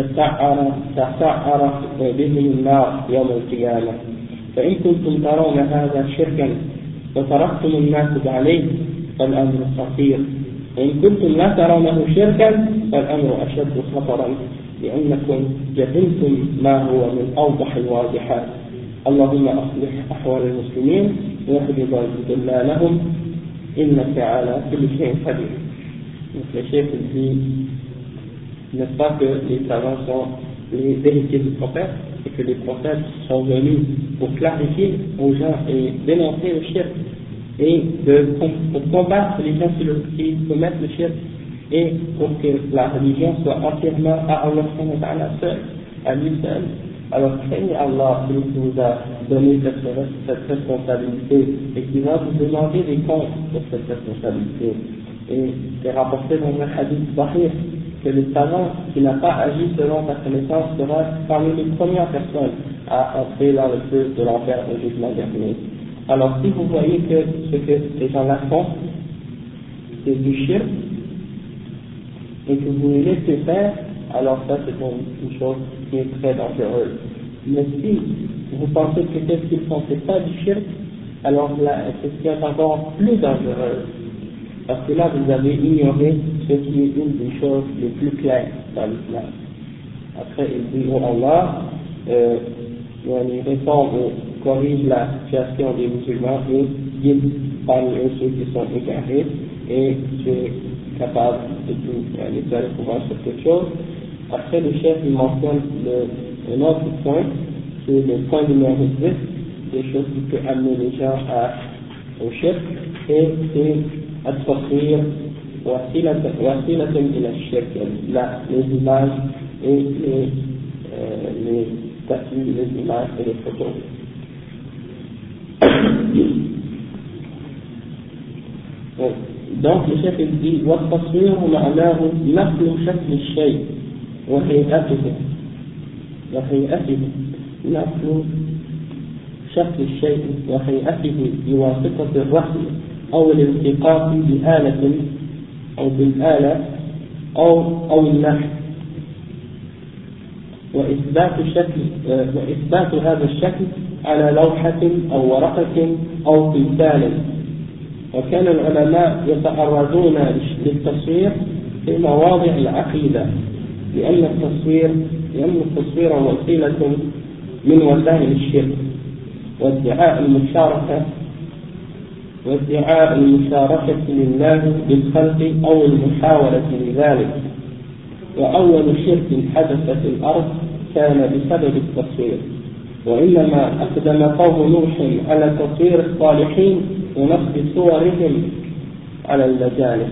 تسعر به النار يوم القيامة. فإن كنتم ترون هذا شركا وتركتم الناس عليه فالأمر خطير، وإن كنتم لا ترونه شركا فالأمر أشد خطرا لأنكم جهلتم ما هو من أوضح الواضحات. اللهم أصلح أحوال المسلمين واهد ضلالهم إنك على كل شيء قدير. Le chef dit, n'est-ce pas que les savants sont les héritiers du prophète et que les prophètes sont venus pour clarifier aux gens et dénoncer le shirk et pour combattre les gens qui commettent le shirk et pour que la religion soit entièrement à Allah seul, à lui seul. Alors craignez Allah qui vous a donné cette responsabilité et qui va vous demander des comptes pour cette responsabilité. Et c'est rapporté dans le hadith sahih que le savant qui n'a pas agi selon sa connaissance sera parmi les premières personnes à entrer dans le feu de l'enfer au jugement dernier. Alors si vous voyez que ce que ces gens-là font, c'est du shirk, et que vous les laissez faire, alors ça c'est une chose qui est très dangereuse. Mais si vous pensez que ce qu'ils font c'est pas du shirk, alors là c'est ce qui est encore plus dangereux. Parce que là vous avez ignoré ce qui est une des choses les plus claires dans l'islam. Après il dit, oh Allah, il répond et corrige la situation des musulmans et guide parmi eux ceux qui sont égarés et tu es capable de tout faire le pouvoir sur quelque chose. Après le chef il mentionne un autre point, c'est le point numéro 10, des choses qui peuvent amener les gens au chef, et c'est التصوير وسيلة إلى الشرك، les images et les statues, les images et les photos. Donc le chef il dit والتصوير معناه نقل شكل الشيء وهيئته نقل شكل الشيء وهيئته بواسطة الرسم أو الالتقاط بآلة أو بالآلة أو النحت، وإثبات هذا الشكل على لوحة أو ورقة أو تمثال. وكان العلماء يتعرضون للتصوير في مواضع العقيدة، لأن التصوير وسيلة من وسائل الشرك وادعاء المشاركة لله بالخلق أو المحاولة لذلك. وأول شرك حدث في الأرض كان بسبب التصوير، وإنما أقدم قوم نوح على تصوير الصالحين ونصب صورهم على المجالس.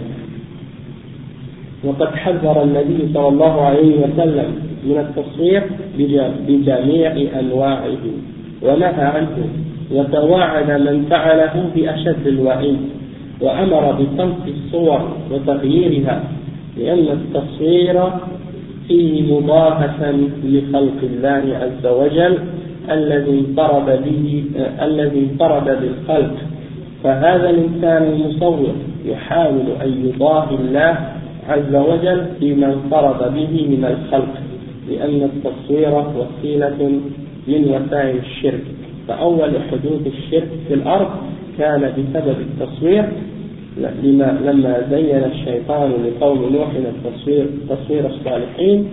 وقد حذر النبي صلى الله عليه وسلم من التصوير بجميع أنواعه ونهى عنه، وتواعد من فعله بأشد الوعيد، وأمر بصمت الصور وتغييرها، لأن التصوير فيه مضاهة لخلق الله عز وجل الذي انفرد بالخلق. فهذا الإنسان المصور يحاول أن يضاهي الله عز وجل بما انفرد به من الخلق، لأن التصوير وسيلة من وسائل الشرك. فأول حدوث الشرك في الأرض كان بسبب التصوير، لما زين الشيطان لقوم نوح تصوير الصالحين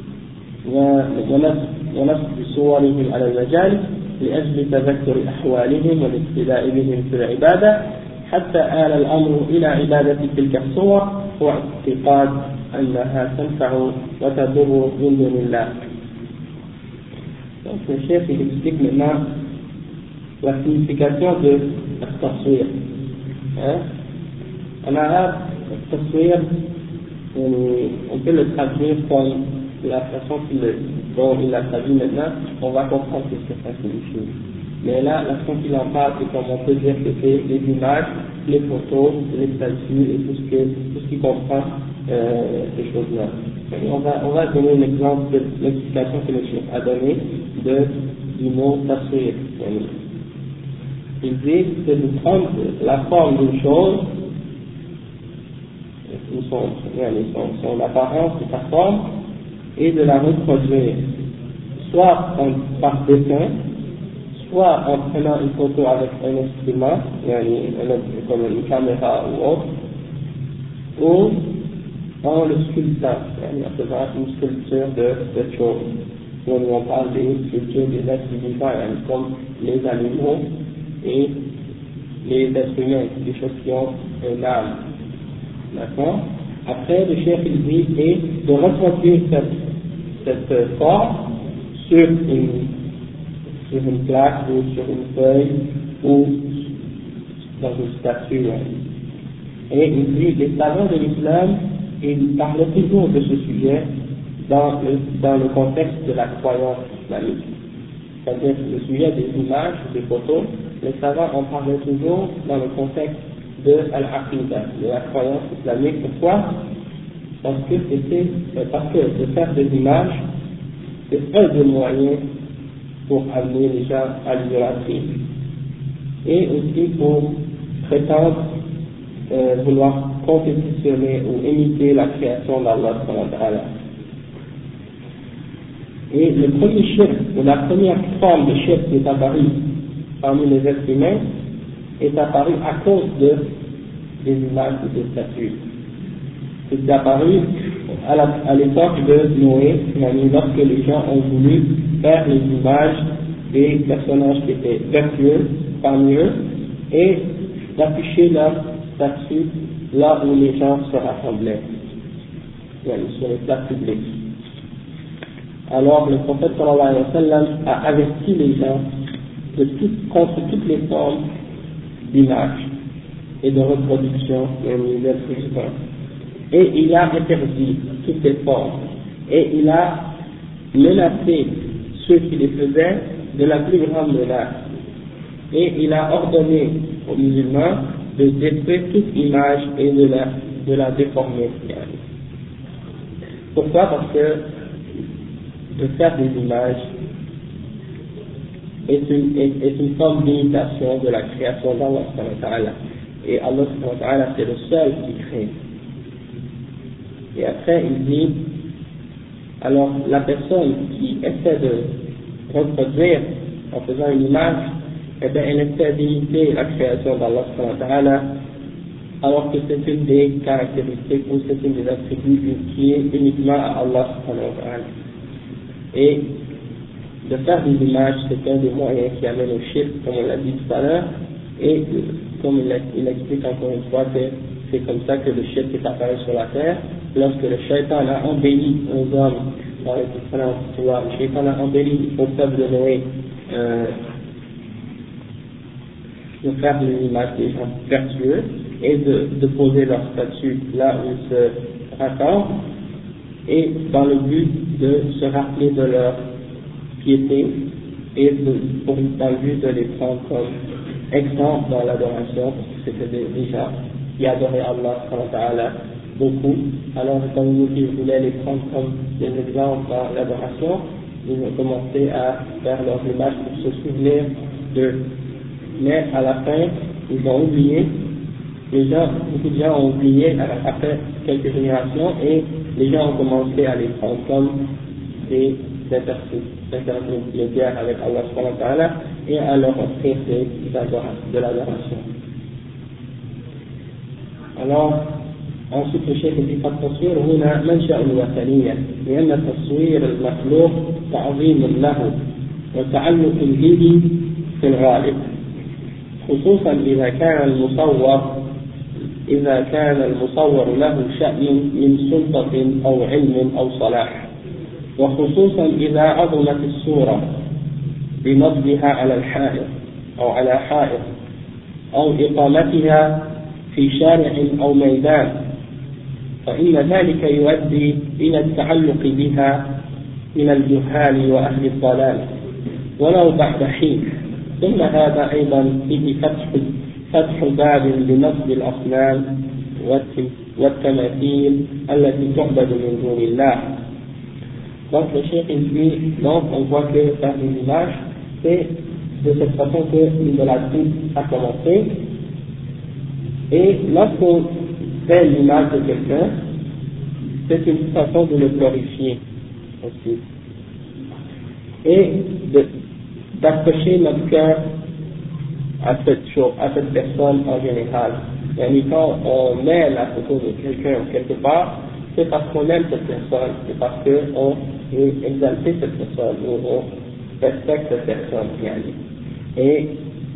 ونصب صورهم على المجالس لأجل تذكر أحوالهم والاقتداء بهم في العبادة، حتى آل الأمر إلى عبادة تلك الصور واعتقاد أنها تنفع وتضر من دون الله. Donc le chef il explique maintenant la signification de التصوير. En arabe, التصوير on peut le traduire comme la façon dont il l'a traduit maintenant, on va comprendre ce que ça signifie. Mais là, la façon qu'il en parle, c'est comme on peut dire que c'est les images, les photos, les statues et tout ce qui comprend ces choses-là. On va donner un exemple de l'explication que le chef a donnée du mot taswir. Il dit c'est de prendre la forme d'une chose, son apparence et sa forme, et de la reproduire, soit par dessin, soit en prenant une photo avec un instrument, comme une caméra ou autre, ou en le sculptant, en faisant une sculpture de choses. Quand on parle des sculptures des êtres vivants, comme les animaux et les êtres humains, des choses qui ont un âme. D'accord? Après, le chef il dit et de reproduire cette forme sur une plaque ou sur une feuille ou dans une statue. Et il dit les savants de l'islam, ils parlaient toujours de ce sujet dans le contexte de la croyance islamique. C'est-à-dire le sujet des images, des photos, les savants en parlaient toujours dans le contexte de al-aqida, de la croyance islamique. Pourquoi? Parce que de faire des images, c'est un des moyens pour amener les gens à l'idolâtrie et aussi pour prétendre vouloir compétitionner ou imiter la création d'Allah. Et le premier shirk, ou la première forme de shirk qui est apparue parmi les êtres humains, est apparue à cause des images et des statues. C'est apparu à l'époque de Noé, lorsque les gens ont voulu faire les images des personnages qui étaient vertueux parmi eux et d'afficher leur statue là où les gens se rassemblaient, sur les places publiques. Alors le prophète sallallahu alayhi wa sallam a averti les gens contre toutes les formes d'image et de reproduction d'êtres vivants. Et il a interdit toutes les formes. Et il a menacé ceux qui les faisaient de la plus grande menace. Et il a ordonné aux musulmans de détruire toute image et de la déformer. Pourquoi? Parce que de faire des images est une forme d'imitation de la création d'Allah. Et Allah c'est le seul qui crée. Et après, il dit, alors la personne qui essaie de reproduire en faisant une image, eh bien, elle essaie d'imiter la création d'Allah subhanahu wa ta'ala, alors que c'est une des caractéristiques ou c'est une des attributs qui est uniquement à Allah subhanahu wa ta'ala. Et de faire des images, c'est un des moyens qui amène au shirk, comme on l'a dit tout à l'heure, et comme il explique encore une fois que c'est comme ça que le shirk est apparu sur la terre, lorsque le shaitan a embelli aux hommes, le shaitan a embelli au peuple de Noé, de faire des images des gens vertueux et de poser leur statut là où ils se raccordent, et dans le but de se rappeler de leur piété et dans le but de les prendre comme exemples dans l'adoration, parce que c'était des gens qui adoraient Allah subhanahu wa ta'ala beaucoup. Alors, comme ils voulaient les prendre comme des exemples dans l'adoration, ils ont commencé à faire leurs images pour se souvenir d'eux. Mais à la fin, ils ont oublié, beaucoup de gens ont oublié après quelques générations, et les gens ont commencé à les prendre comme des intermédiaires avec Allah subhanahu wa ta'ala et à leur offrir de l'adoration. Alors, ensuite le cheikh dit فالتصوير هنا منشأ الوثنية لأن التصوير المخلوق تعظيم له وتعلق به في الغالب خصوصا إذا كان المصور له شأن من سلطة أو علم أو صلاح، وخصوصا إذا عظمت الصورة بنصبها على الحائط أو على حائط أو إقامتها في شارع أو ميدان، فإن ذلك يؤدي إلى التعلق بها من الجهال وأهل الضلال ولو بعد حين. ثم هذا أيضا فيه فتح باب لنصب الأصنام والتماثيل التي تعبد من دون الله. Donc le cheikh dit, donc on voit que faire des images, c'est de cette façon que l'idolâtrie a commencé. Et lorsqu'on fait l'image de quelqu'un, c'est une façon de le glorifier aussi. Et d'accrocher notre cœur à cette chose, à cette personne en général. Et quand on met la photo de quelqu'un quelque part, c'est parce qu'on aime cette personne, c'est parce qu'on veut exalter cette personne, ou on respecte cette personne. Et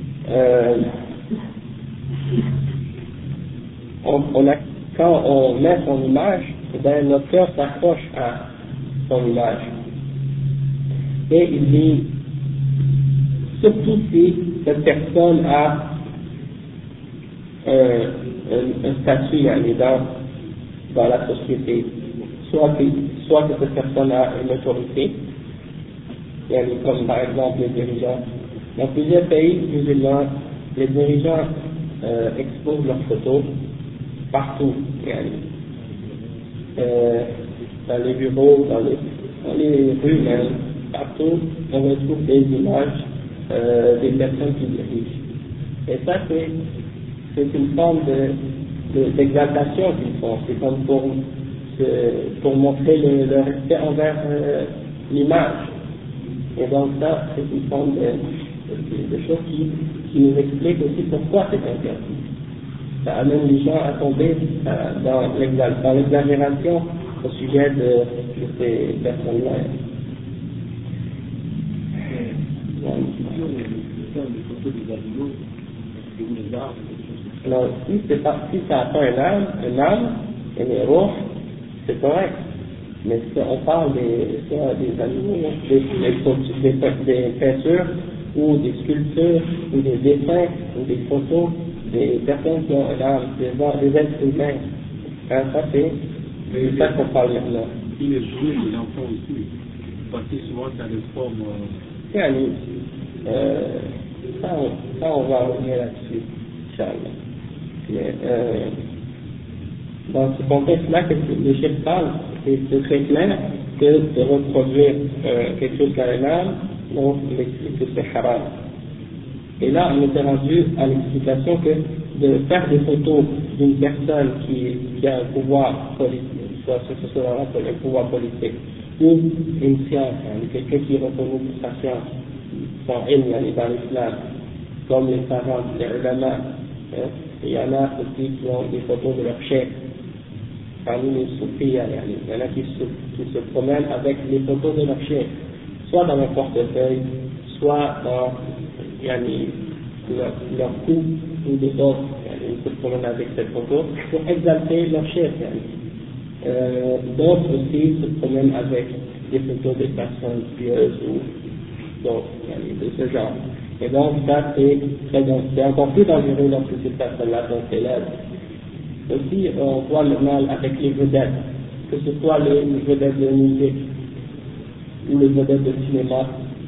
quand on met son image, ben, notre cœur s'accroche à son image. Et il dit, surtout si cette personne a un statut dans la société, soit que cette personne a une autorité, comme par exemple les dirigeants. Dans plusieurs pays musulmans, les dirigeants exposent leurs photos partout, dans les bureaux, dans les rues même, partout, on retrouve des images des personnes qui dirigent. Et ça, c'est une forme d'exaltation qu'ils font. C'est comme pour montrer le respect envers l'image. Et donc ça, c'est une forme de choses qui nous explique aussi pourquoi c'est interdit. Ça amène les gens à tomber dans l'exagération au sujet de ces personnes-là. Alors, si ça atteint un âme, un héros, c'est correct. Mais si on parle des animaux, des peintures, ou des sculptures, ou des dessins, ou des photos, des personnes qui ont un âme, des êtres humains, ça c'est ça qu'on parle maintenant.
Il est joué de l'enfant aussi, parce que souvent ça a des formes.
Ça on va revenir là-dessus, Inch'Allah. Mais dans ce contexte-là, que le chef parle, c'est très clair que de reproduire quelque chose qui a un âme, donc il explique que c'est haram. Et là, on était rendu à l'explication que de faire des photos d'une personne qui a un pouvoir politique, soit ce soit un pouvoir politique, ou une science, quelqu'un qui est reconnu pour sa science, son ilm dans l'islam, comme les savants, les ulama. Il y en a aussi qui ont des photos de leur chef. Parmi les soufis, il y en a qui se promènent avec les photos de leur chef, soit dans leur portefeuille, soit dans leur cou ou des autres. Ils se promènent avec cette photo pour exalter leur chef. D'autres aussi se promènent avec des photos des personnes pieuses ou d'autres, de ce genre. Et donc ça c'est encore plus dangereux lorsque ces personnes-là sont célèbres. Aussi on voit le mal avec les vedettes, que ce soit les vedettes de musique ou les vedettes de cinéma.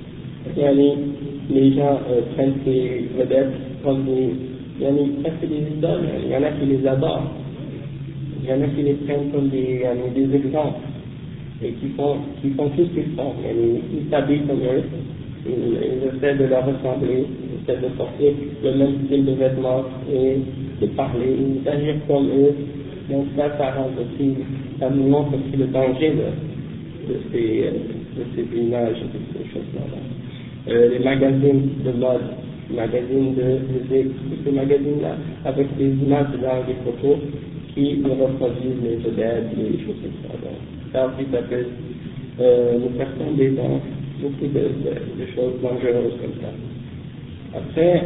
Les gens prennent ces vedettes comme presque des idoles. Il y en a qui les adorent, il y en a qui les prennent comme des exemples et qui font tout ce qu'ils font. Ils s'habillent comme eux, ils essaient de leur ressembler, ils essaient de porter le même style de vêtements et de parler, d'agir comme eux. Donc ça rend aussi, ça nous montre aussi le danger de ces images et de ces choses-là. Les magazines de mode, les magazines de musique, ces magazines-là, avec des images dans des photos qui reproduisent les vedettes, les choses comme ça. Donc, ça aussi, ça peut nous faire tomber dans beaucoup de choses dangereuses comme ça. Après,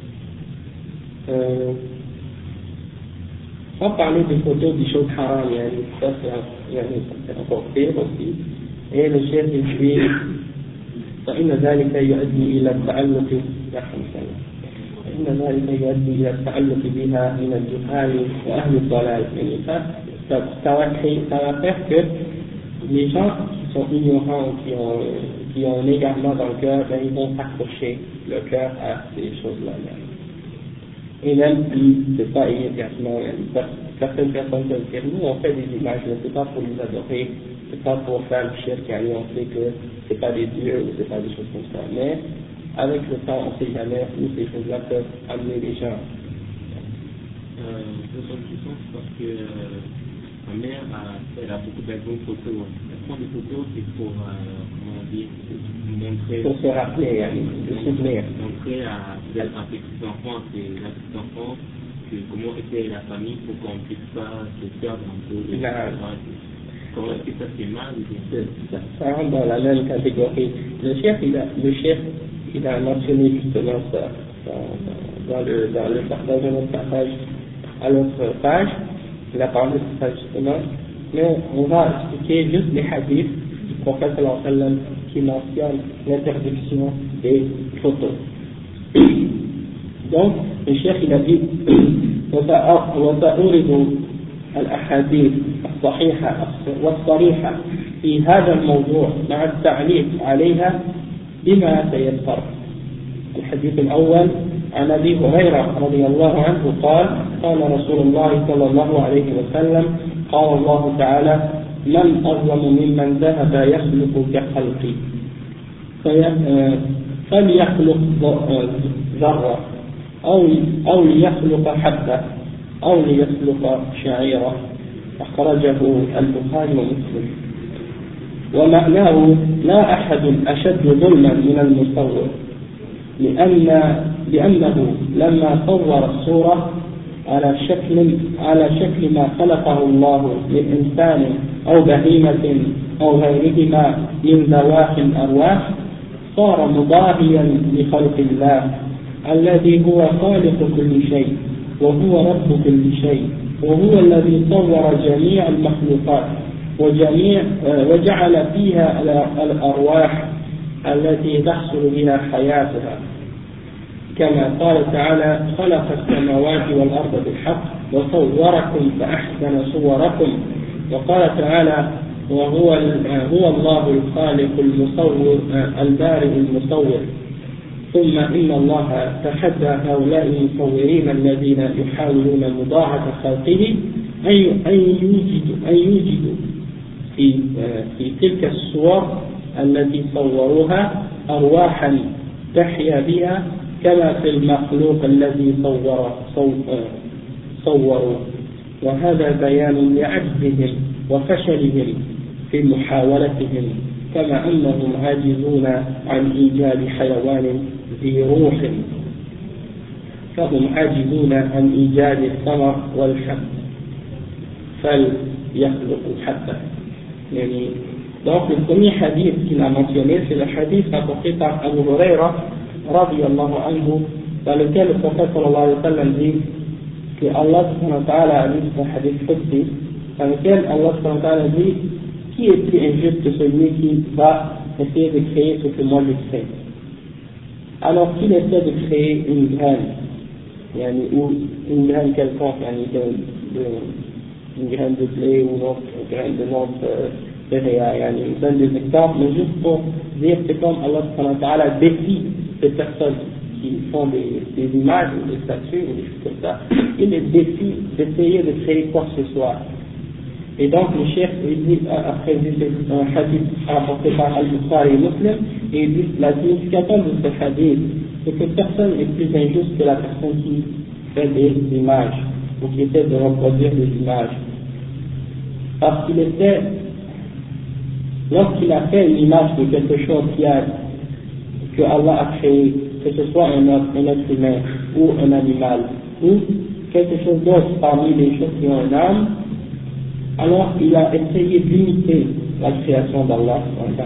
sans parler des photos des choses haram, ça c'est encore pire aussi. Et le chef il dit فإن ذلك يؤدي إلى التعلق بها من الجهال وأهل الضلال. Ça va faire que les gens qui sont ignorants, qui ont un égarement dans le cœur, ils vont s'accrocher le cœur à ces choses-là. Et même si c'est pas immédiatement, certaines personnes peuvent dire nous on fait des images, mais c'est pas pour les adorer, c'est pas pour faire le shirk, on sait que c'est pas des dieux ou c'est pas des choses comme ça. Mais avec le temps, on sait jamais où ces choses-là peuvent amener les gens.
Je pense parce que ma mère elle a beaucoup d'albums photos. Elle prend des photos, c'est pour comment dire, montrer.
Pour se rappeler, se souvenir.
Montrer à ses petits-enfants, à ses petits-enfants, comment était la famille pour qu'on ne puisse pas se perdre un peu. Comment est-ce que ça c'est mal?
Ça rentre dans la même catégorie. Le chef il a mentionné justement ça dans un autre passage à l'autre page. Il a parlé de ça justement. Mais on va expliquer juste les hadiths du prophète sallallahu alayhi wa sallam qui mentionnent l'interdiction des photos. Donc, le chef il a dit وسأورد الأحاديث الصحيحة والصريحة في هذا الموضوع مع التعليق عليها بما تيسر. الحديث الأول عن أبي هريرة رضي الله عنه قال قال رسول الله صلى الله عليه وسلم قال الله تعالى من أظلم ممن ذهب يخلق كخلقي فليخلق ذرة أو ليخلق حبة أو ليخلق شعيرة. أخرجه البخاري ومسلم. ومعناه لا أحد أشد ظلما من المصور لأنه لما صور الصورة على شكل ما خلقه الله من إنسان أو بهيمة أو غيرهما من ذوات الأرواح صار مضاهيا لخلق الله الذي هو خالق كل شيء وهو رب كل شيء وهو الذي صور جميع المخلوقات وجعل فيها الأرواح التي تحصل بها حياتها كما قال تعالى خلق السماوات والأرض بالحق وصوركم فأحسن صوركم. وقال تعالى وهو الله الخالق المصور البارئ المصور. ثم إن الله تحدى هؤلاء المصورين الذين يحاولون مضاعفة خلقه أن يوجدوا في تلك الصور التي صوروها أرواحا تحيا بها كما في المخلوق الذي صوروا. وهذا بيان لعجزهم وفشلهم في محاولتهم كما أنهم عاجزون عن إيجاد حيوان ذي روح فهم عاجزون عن إيجاد الثمر والحب فليخلقوا حبة. Donc le premier hadith qu'il a mentionné, c'est le hadith rapporté par Abu Huraira radiyallahu anhu, dans lequel le prophète sallallahu alayhi wa sallam dit que Allah subhanahu wa ta'ala a dit, c'est un hadith qudsi, dans lequel Allah subhanahu wa ta'ala dit: qui est plus injuste que celui qui va essayer de créer ce que moi je crée? Alors qu'il essaie de créer une graine, ou une graine quelconque, une graine de blé ou une graine de notre céréales, il donne des exemples, mais juste pour dire c'est comme Allah subhanahu wa ta'ala défie ces personnes qui font des images ou des statues ou des choses comme ça, il les défie d'essayer de créer quoi que ce soit. Et donc le chef, il dit, après c'est un hadith rapporté par Al-Bukhari et Muslim, et il dit la signification de ce hadith, c'est que personne n'est plus injuste que la personne qui fait des images ou qui essaie de reproduire des images. Parce qu'il essaie, lorsqu'il a fait une image de quelque chose que Allah a créé, que ce soit un être humain ou un animal ou quelque chose d'autre parmi les choses qui ont une âme, alors il a essayé d'imiter la création d'Allah,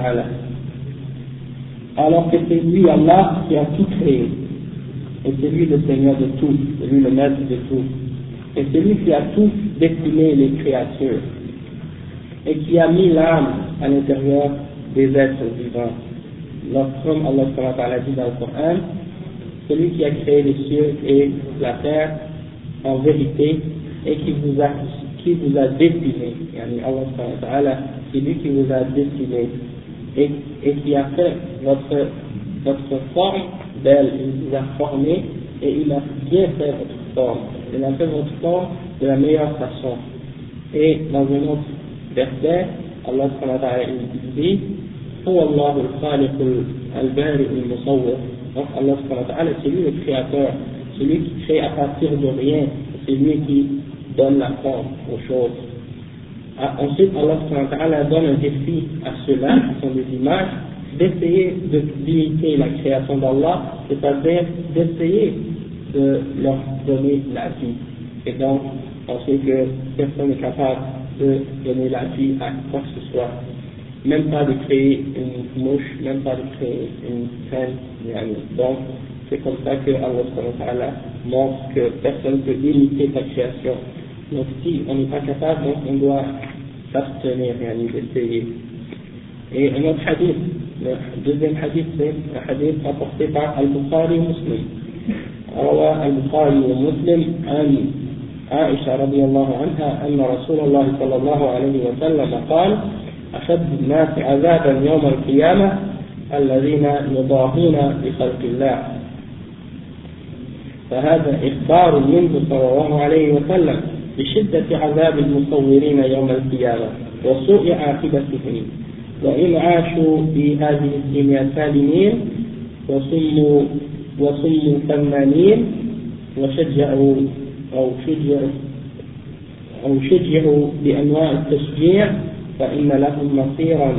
alors que c'est lui, Allah, qui a tout créé, et c'est lui le Seigneur de tout, c'est lui le maître de tout, et c'est lui qui a tout destiné les créatures, et qui a mis l'âme à l'intérieur des êtres vivants. Comme Allah dit dans le Coran, celui qui a créé les cieux et la terre en vérité et qui vous a destiné, Allah, c'est lui qui vous a destiné et qui a fait votre forme belle, il vous a formé et il a bien fait votre forme, il a fait votre forme de la meilleure façon. Et dans un autre verset, Allah dit: هو الله الخالق البارئ المصور. Donc Allah c'est lui le créateur, celui qui crée à partir de rien, c'est lui qui donne la forme aux choses. Ensuite Allah donne un défi à ceux-là qui sont des images d'essayer d'imiter la création d'Allah, c'est-à-dire d'essayer de leur donner la vie. Et donc on sait que personne n'est capable de donner la vie à quoi que ce soit, même pas de créer une mouche, même pas de créer une graine. Donc c'est comme ça que Allah montre que personne ne peut imiter sa création. Donc si on n'est pas capable, donc on doit s'abstenir, d'essayer. Et un autre hadith, le deuxième hadith, c'est un hadith rapporté par Al-Bukhari et Muslim. روى البخاري ومسلم عن عائشة رضي الله عنها أن رسول الله صلى الله عليه وسلم قال: أشد الناس عذابا يوم القيامة الذين يضاهون بخلق الله. فهذا إخبار منه صلى الله عليه وسلم بشدة عذاب المصورين يوم القيامة وسوء عاقبتهم، وإن عاشوا في هذه الدنيا سالمين وصموا ثمانين وشجعوا بأنواع التشجيع، فإن لهم مصيرا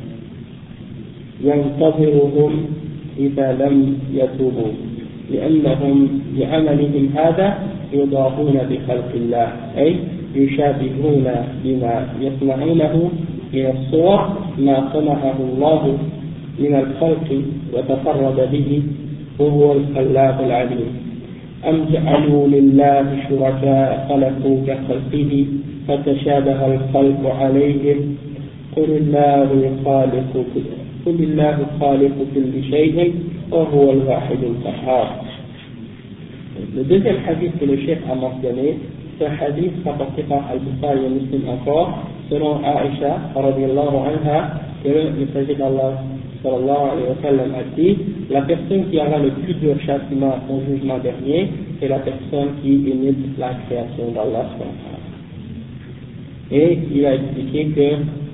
ينتظرهم إذا لم يتوبوا، لأنهم بعملهم هذا يضاهون بخلق الله، أي يشابهون بما يصنعونه من الصور ما صنعه الله من الخلق وتفرد به وهو الخلاق العليم. أم جعلوا لله شركاء خلقوا كخلقه فتشابه الخلق عليهم قل الله خالق كل شيء وهو الواحد القهار. Le deuxième hadith que le chef a mentionné, c'est un hadith rapporté par Al-Bukhari et Muslim encore, selon Aïcha radiyallahu anha, que le messager d'Allah sallallahu alayhi wa sallam a dit: la personne qui aura le plus dur châtiment au jugement dernier, c'est la personne qui imite la création d'Allah. Et il a expliqué que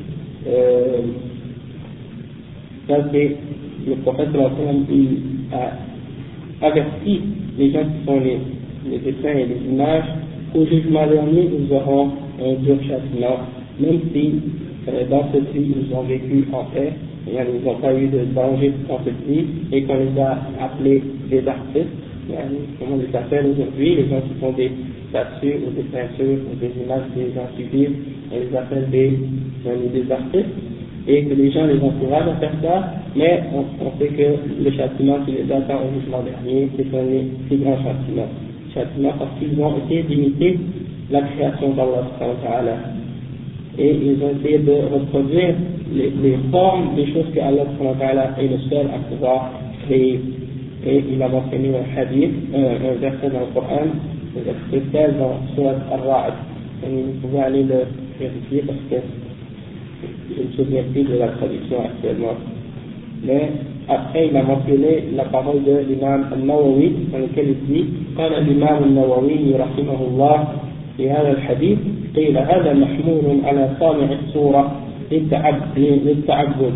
ça c'est le prophète sallallahu alayhi wa sallam, il a averti les gens qui font les dessins et les images qu'au jugement dernier ils auront un dur châtiment même si dans cette vie ils ont vécu en paix, ils n'ont pas eu de danger dans cette vie, et qu'on les a appelés des artistes, comme on les appelle aujourd'hui, les gens qui font des statues ou des peintures ou des images des gens qui vivent, on les appelle des artistes, et que les gens les encouragent à faire ça, mais on sait que le châtiment qui les attend au jugement dernier, c'est un des plus grands châtiments parce qu'ils ont essayé d'imiter la création d'Allah, et ils ont essayé de reproduire les formes des choses que Allah est le seul à pouvoir créer. Et il a mentionné un hadith, un verset dans le Coran, le verset 16 dans Surat Al-Ra'd. Vous pouvez aller le vérifier parce que je ne me souviens plus de la traduction actuellement. Mais après, il a mentionné la parole de l'imam al-Nawawi, dans lequel il dit قال الإمام النووي رحمه الله في هذا الحديث قيل هذا محمول على صانع الصورة للتعبد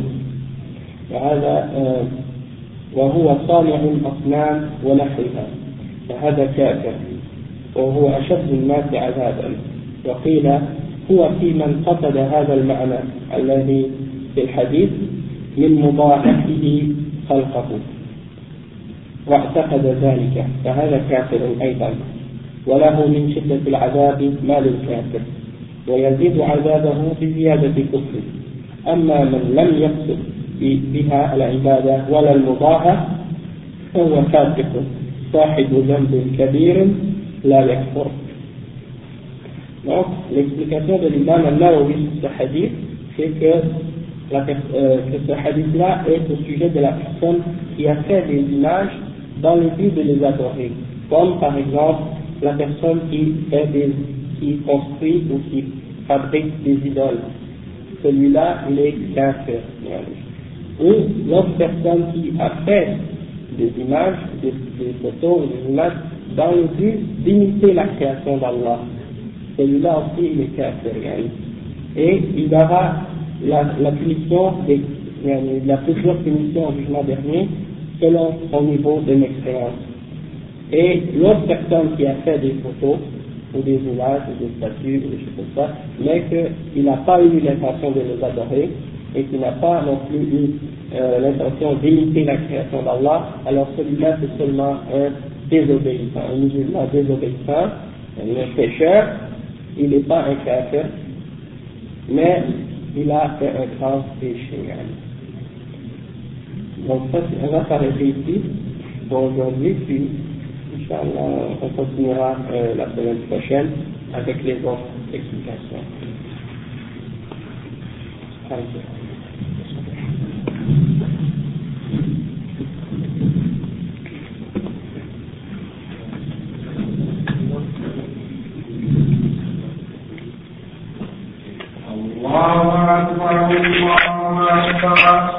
وهو صانع الأصنام ونحوها فهذا كافر وهو أشد الناس عذابا وقيل هو في من قصد هذا المعنى الذي في الحديث من مضاعفه خلقه واعتقد ذلك فهذا كافر أيضا وله من شدة العذاب ما للكافر ويزيد عذابه بزيادة كفره أما من لم يقصد بها العبادة ولا المضاعف فهو فاسق صاحب ذنب كبير لا يكفر. Donc, l'explication de l'imam al-Nawawi sur ce hadith, c'est que ce hadith-là est au sujet de la personne qui a fait des images dans le but de les adorer. Comme par exemple la personne qui construit ou qui fabrique des idoles. Celui-là, il est kafir. Ou l'autre personne qui a fait des images, des photos, des images dans le but d'imiter la création d'Allah. Celui-là aussi, il est kafir. Et il aura la punition, la plus dure punition au jugement dernier, selon son niveau de l'expérience. Et l'autre personne qui a fait des photos, ou des images, ou des statues, ou des choses comme ça, mais qu'il n'a pas eu l'intention de les adorer, et qu'il n'a pas non plus eu l'intention d'imiter la création d'Allah, alors celui-là c'est seulement un désobéissant, un musulman désobéissant, un pécheur, il n'est pas un kafir, mais il a fait un grand péché. Donc ça, on va s'arrêter ici pour aujourd'hui, puis Inch'Allah, on continuera la semaine prochaine avec les autres explications.
الله أكبر الله أكبر